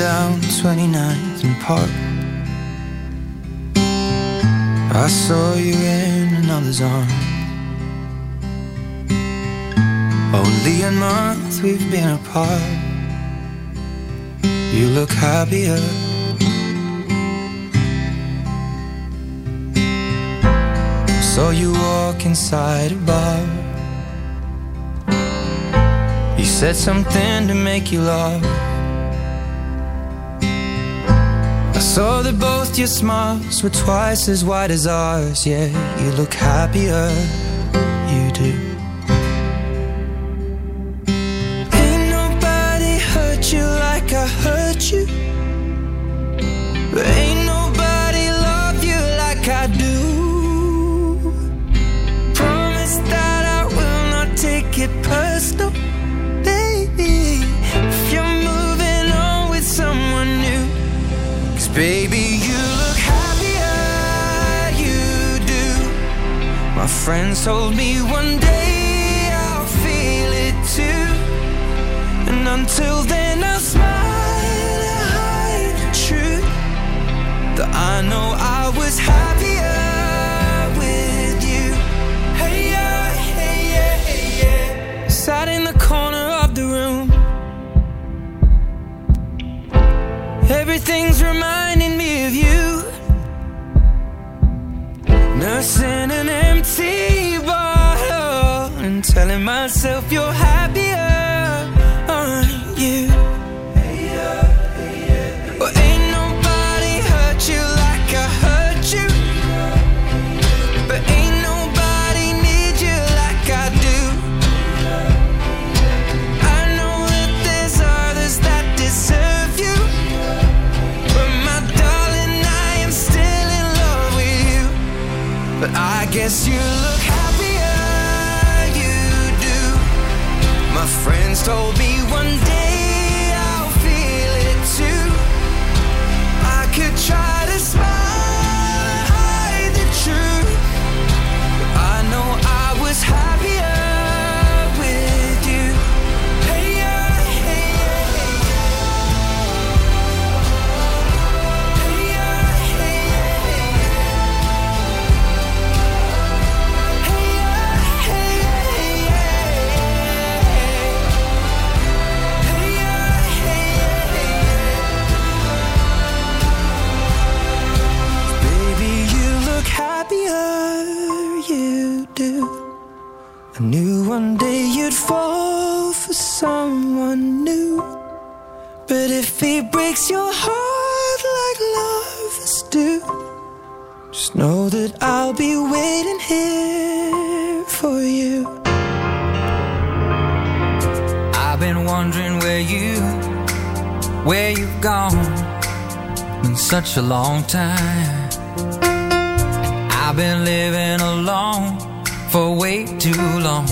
down 29th and Park. I saw you in another's arms. Only a month we've been apart. You look happier. Saw you walk inside a bar. You said something to make you laugh. I saw that both your smiles were twice as wide as ours. Yeah, you look happier, you do. Ain't nobody hurt you like I hurt you. But ain't nobody love you like I do. Promise that I will not take it personal, baby, if you're moving on with someone new. 'Cause baby, you look happier, you do. My friends told me one day I'll feel it too. And until then I'll smile and hide the truth, that I know I was happier with you. Hey yeah, hey yeah, hey yeah. Sat in the corner of the room. Everything's reminding me of you. Nursing an empty bottle and telling myself you're happier, aren't you? Well, ain't nobody hurt you like I hurt you. But ain't nobody need you like I do. I know that there's others that deserve you. But I guess you look happier, you do. My friends told me one day I'll feel it too. I could try to smile and hide the truth, but I know I was happier with you. Hey yeah, hey yeah, hey yeah. Hey yeah, hey yeah, hey happier, you do. I knew one day you'd fall for someone new. But if he breaks your heart like lovers do, just know that I'll be waiting here for you. I've been wondering where you've gone. Been such a long time. I've been living alone for way too long.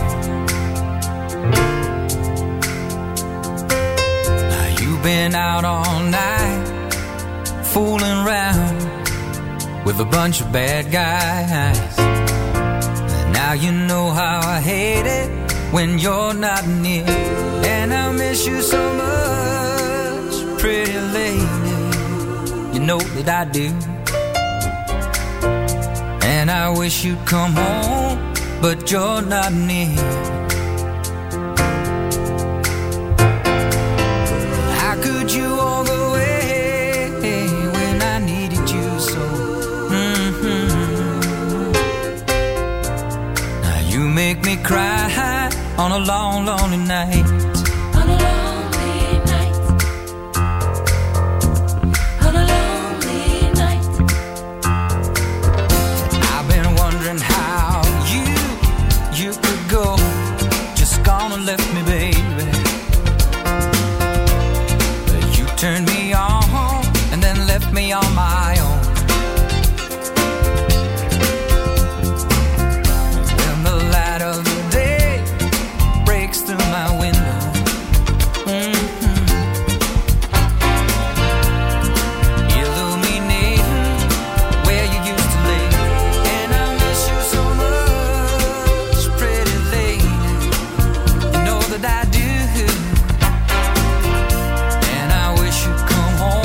Now you've been out all night, fooling around with a bunch of bad guys. And now you know how I hate it when you're not near. And I miss you so much, pretty lady. You know that I do. And I wish you'd come home, but you're not near. How could you walk away when I needed you so? Now you make me cry on a long, lonely night. Left me, baby. You turned me on and then left me on my own. When the light of the day breaks through my window, illuminating where you used to live. And I miss you so much, pretty lady. That I do, and I wish you'd come home.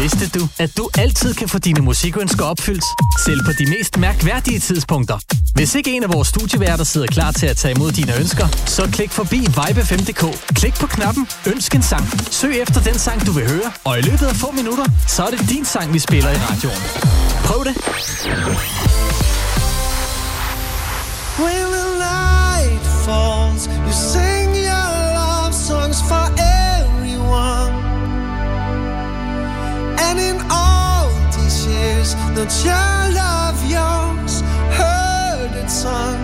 Vidste du, at du altid kan få dine musikønsker opfyldt, selv på de mest mærkværdige tidspunkter? Hvis ikke en af vores studieværter sidder klar til at tage imod dine ønsker, så klik forbi vibe5.dk. Klik på knappen Ønsk en sang. Søg efter den sang, du vil høre, og i løbet af få minutter, så er det din sang, vi spiller i radioen. Prøv det. When the night falls, you sing your love songs for everyone. And in all these years, no child of yours heard it sung.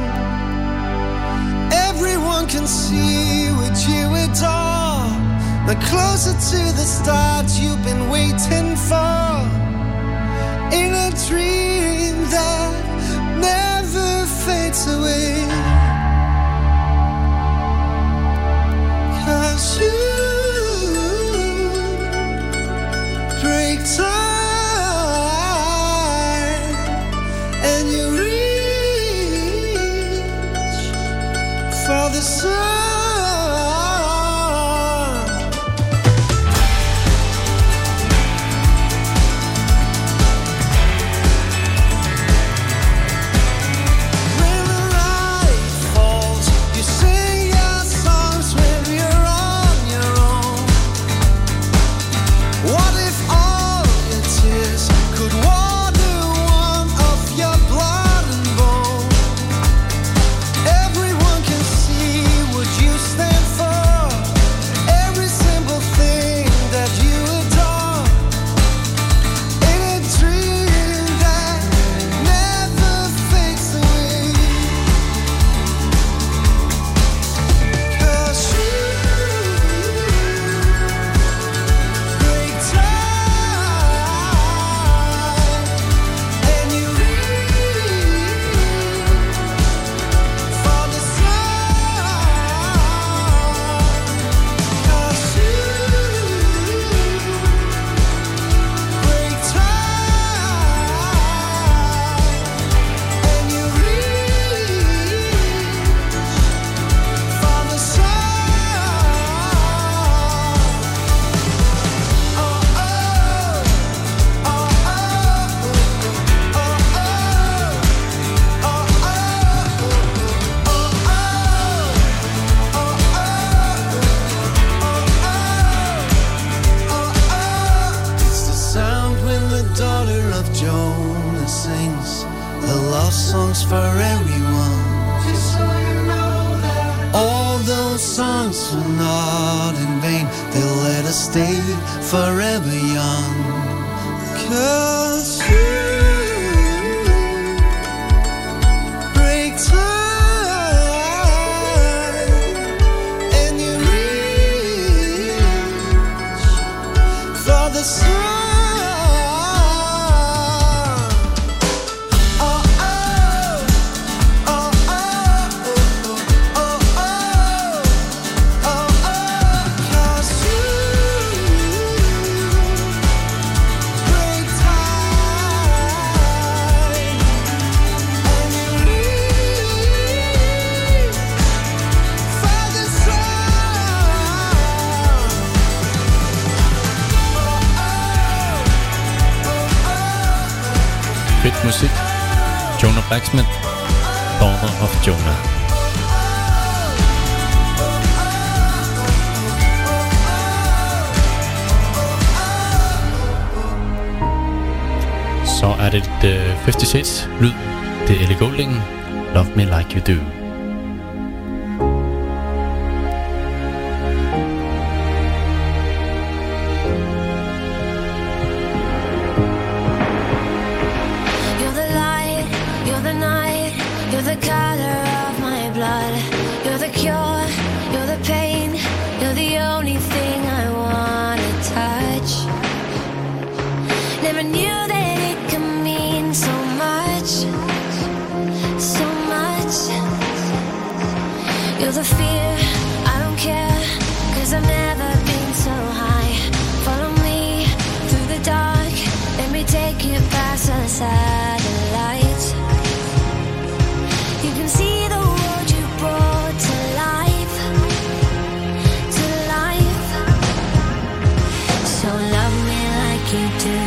Everyone can see what you adore. Now closer to the start you've been waiting for. In a dream that never fades away. 'Cause you break time and you reach for the sun. When the light falls, you sing your songs when you're on your own. What if all your tears could water one of your blood and bone? Everyone can see what you stand for. Every simple thing that you adore. In a dream that never fades away. 'Cause you break time and you reach for the sun. 'Cause you break time and you reach for the It's the sound when the daughter of Jonah sings the love songs for everyone. Just so you know that all those songs are not in vain. They'll let us stay forever young. 'Cause you break time and you reach for the sun. Oh, oh, oh, oh, oh, oh, oh, oh, 'cause you break time and you reach for the sun. Fedt musik. Jonah Blacksmith, Daughter of Jonah. Så er det 50 Shades lyd. Det er Ellie Goulding, Love Me Like You Do. You're the light, you're the night, you're the color of my blood. You're the cure, you're the pain, you're the only thing I wanna touch. Never knew that it could mean so much, so much. You're the fear, I don't care, 'cause I've never been so high. Follow me through the dark, let me take you past the satellites. You can see the world you brought to life, to life. So love me like you do.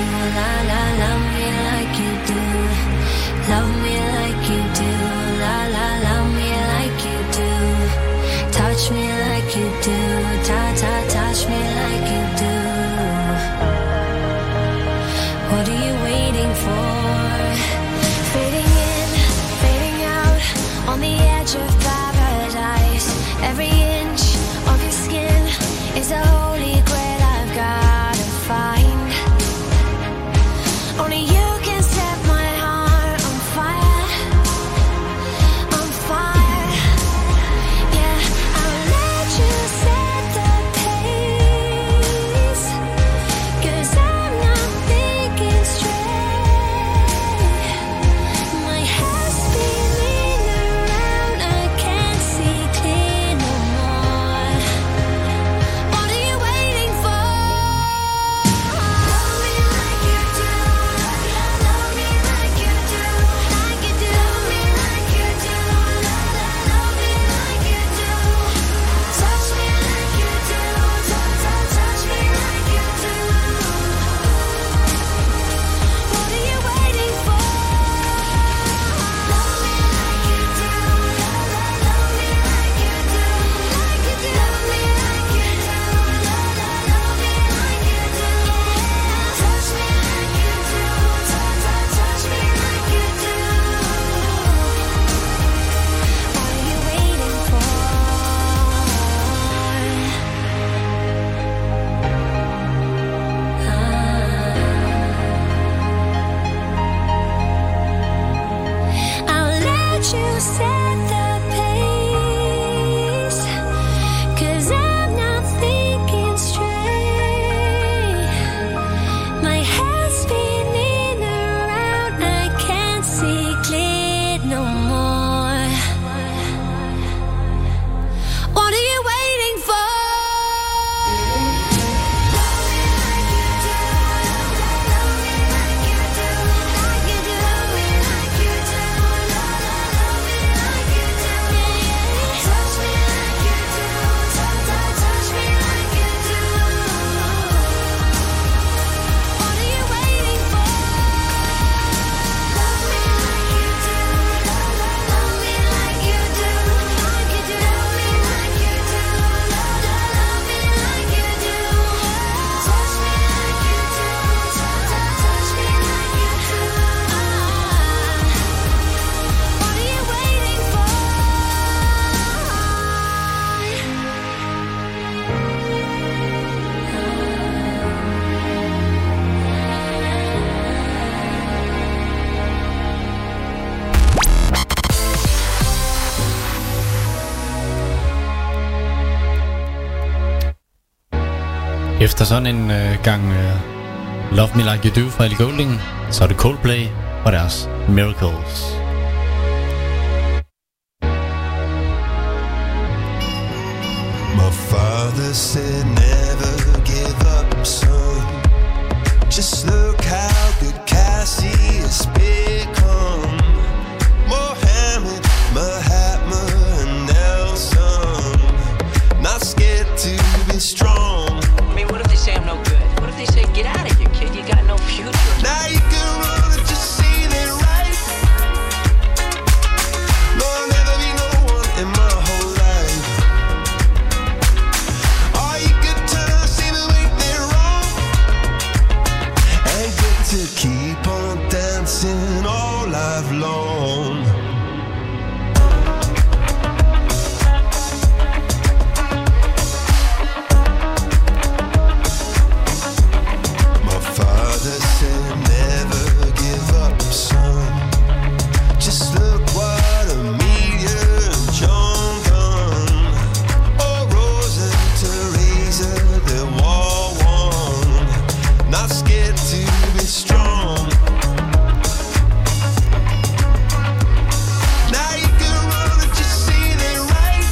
Efter sådan en gang Love Me Like You Do fra Ellie Goulding, så er det Coldplay og deres Miracles. My father said never give up, son. Just look how good Cassie has become. Mohammed, Mahatma, and Nelson. Not scared to be strong. I mean, what if they say I'm no good? What if they say, get out of here, kid, you got no future? Now you can run and just see it right. No, I'll never be no one in my whole life. All you could turn, see the way they're wrong. And get to keep on dancing all life long. Father said never give up, son. Just look what Amelia and John done. Oh, Rosa and Teresa, they're war one. Not scared to be strong. Now you can run and just see they right.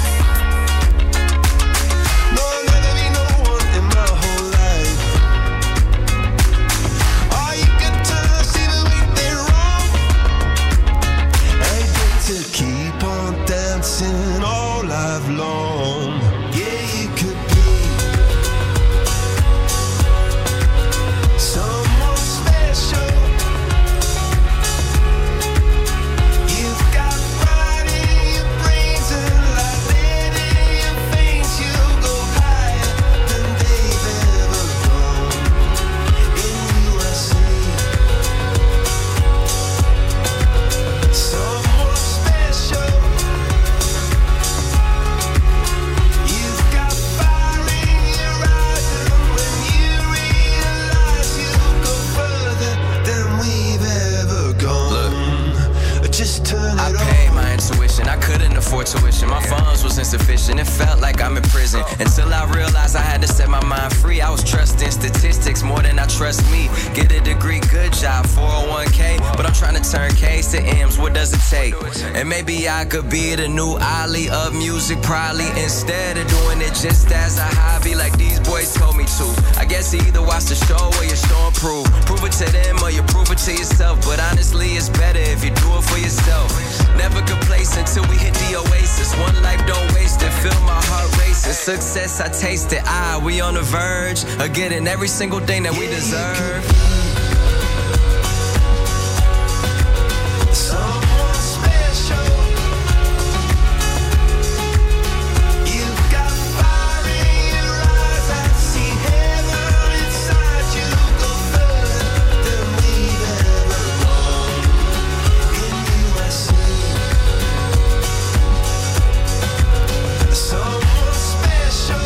No, I'll never be no one in my whole life. To keep on dancing all life long. Yeah, you could be someone special. You've got pride in your brains and like lead in your veins. You'll go higher than they've ever gone. In USA, someone special. You've got fire in your eyes, and when you realize you'll go further than we've ever gone. Just turn it I on. paid my intuition, I couldn't afford tuition. My funds was insufficient, it felt like I'm in prison. Until I realized I had to set my mind free. I was trusting statistics more than I trust me. Get a degree, good job, 401k. But I'm trying to turn K's to M's, what does it take? And maybe I could be the new Ali of music, probably. Instead of doing it just as a hobby like these boys told me to. I guess you either watch the show or you show and prove. Prove it to them or you prove it to yourself. But honestly, it's better if you do it for yourself. Never complacent till we hit the oasis. One life, don't waste it, feel my heart racing. Success, I taste it, we on the verge of getting every single thing that we deserve. Someone special. You've got fire in your eyes. I see heaven inside you. Go further than we've ever gone. In USA, someone special.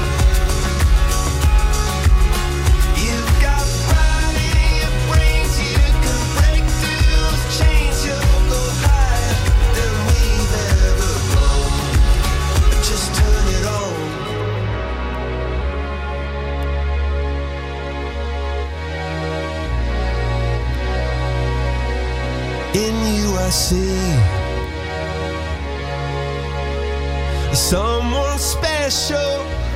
You've got pride in your brains. You can break through those chains. You'll go higher than we've ever gone. Just turn it on. In you I see someone special.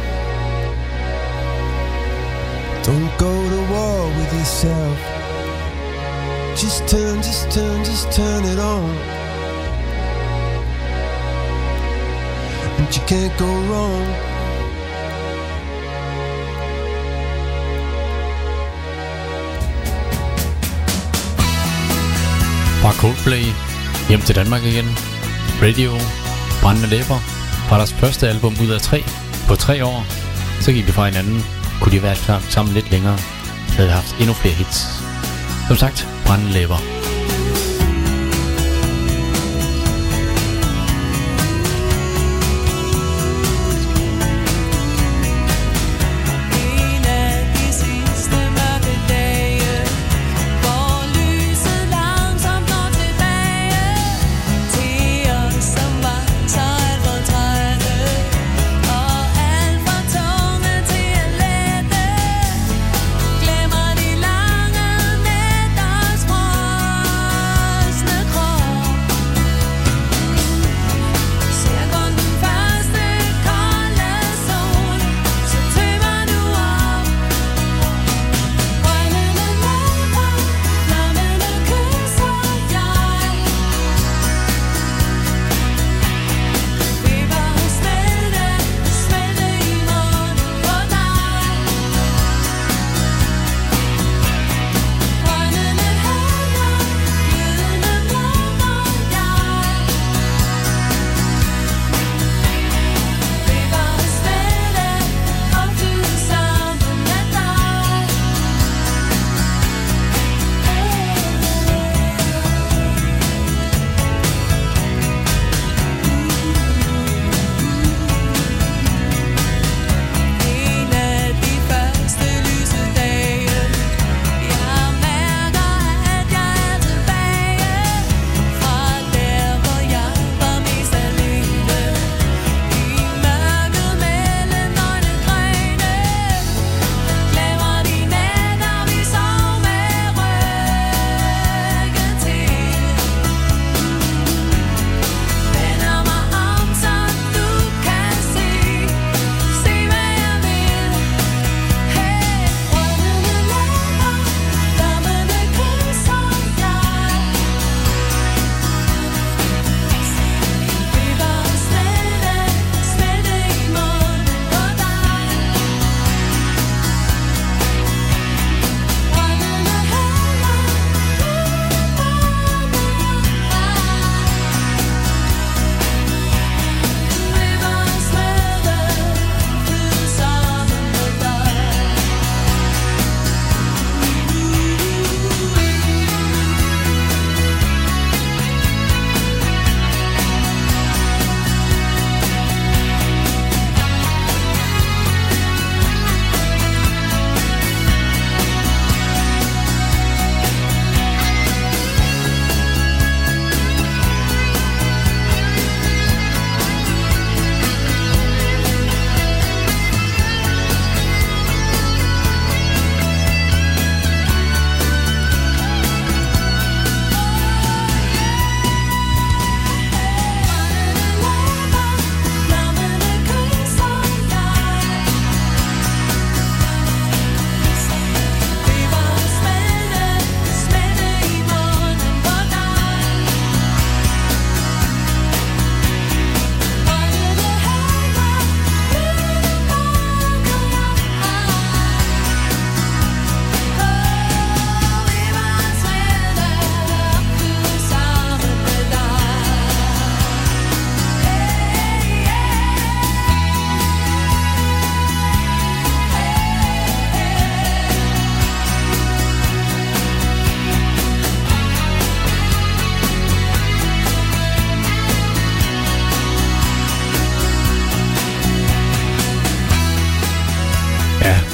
Don't go to war with yourself. Just turn it on. And you can't go wrong. Fra Coldplay hjem til Danmark igen. Radio, Brændende Læber, fra deres første album ud af 3 på 3 år. Så gik det fra hinanden. Kunne de være sammen lidt længere, havde vi haft endnu flere hits. Som sagt, Brændende Læber. En af de sidste mørke dage, hvor lyset langsomt når tilbage til os, som var så alt for trætte og alt for tunge til at lette.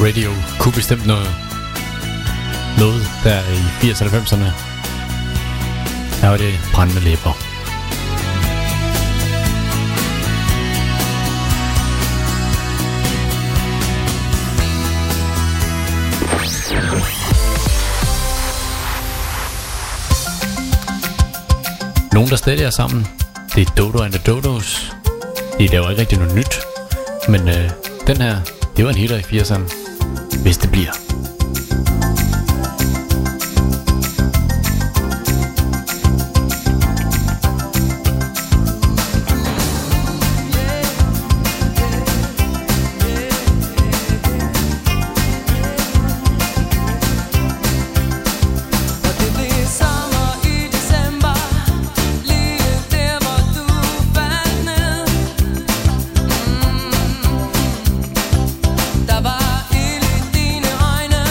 Radio kunne bestemt noget der i 80'erne og 90'erne. Her var det brændende læber. Nogen der stadig er sammen, det er Dodo and the Dodos. De laver ikke rigtig noget nyt, men den her, det var en hitter i 80'erne, hvis det bliver. Der var ild i dine øjne.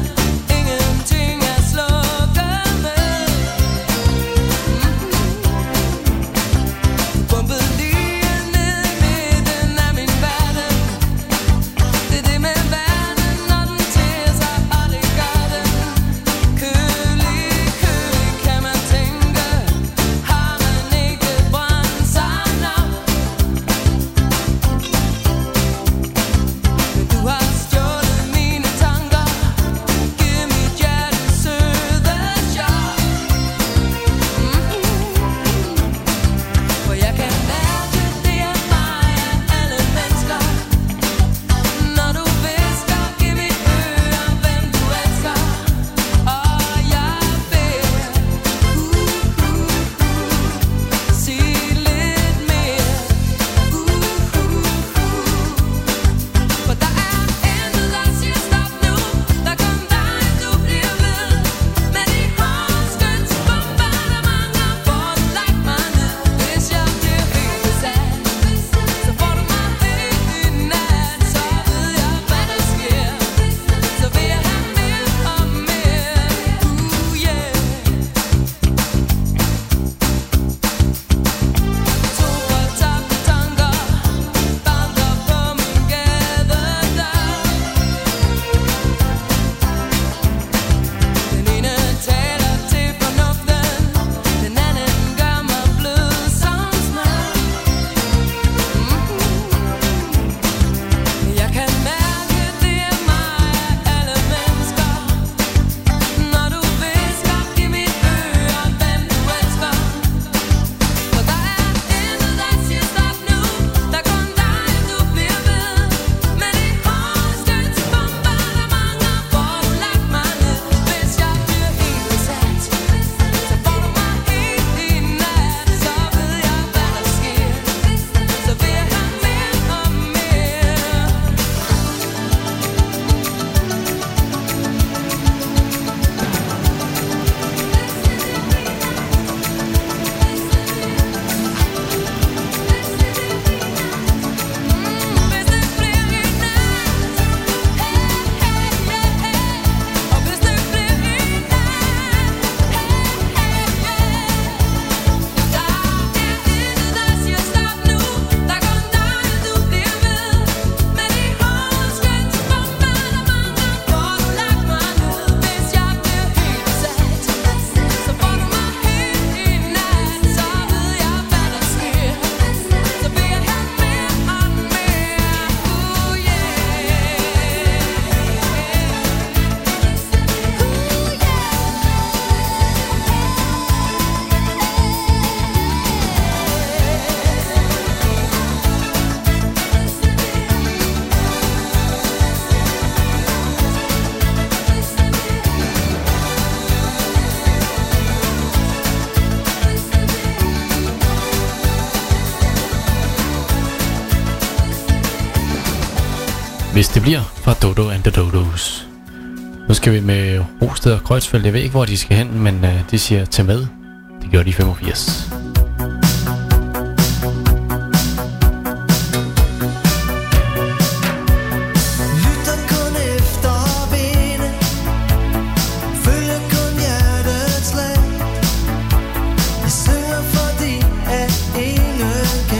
Hvis det bliver fra Dodo and the Dodos. Nu skal vi med Rosted og Kreuzfeldt. Jeg ved ikke hvor de skal hen, men de siger tag med. Det gjorde de i 85.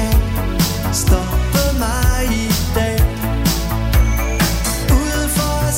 Stoppe mig i dag. Ude for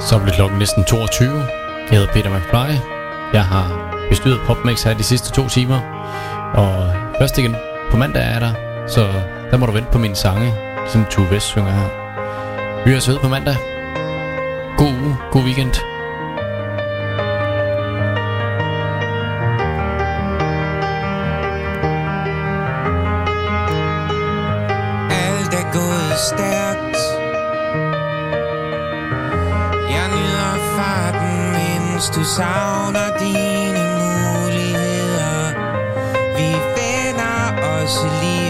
Så bliver klokken næsten 22. Jeg hedder Peter McFly. Jeg har bestyret PopMix her de sidste 2 timer. Og først igen på mandag er der, så der må du vente på mine sange, som Tue Vest synger her. Vi høres ved på mandag. God uge, god weekend. Alt er gået stærkt. Jeg nyder farten, mens du savner dine muligheder. Vi vender os lige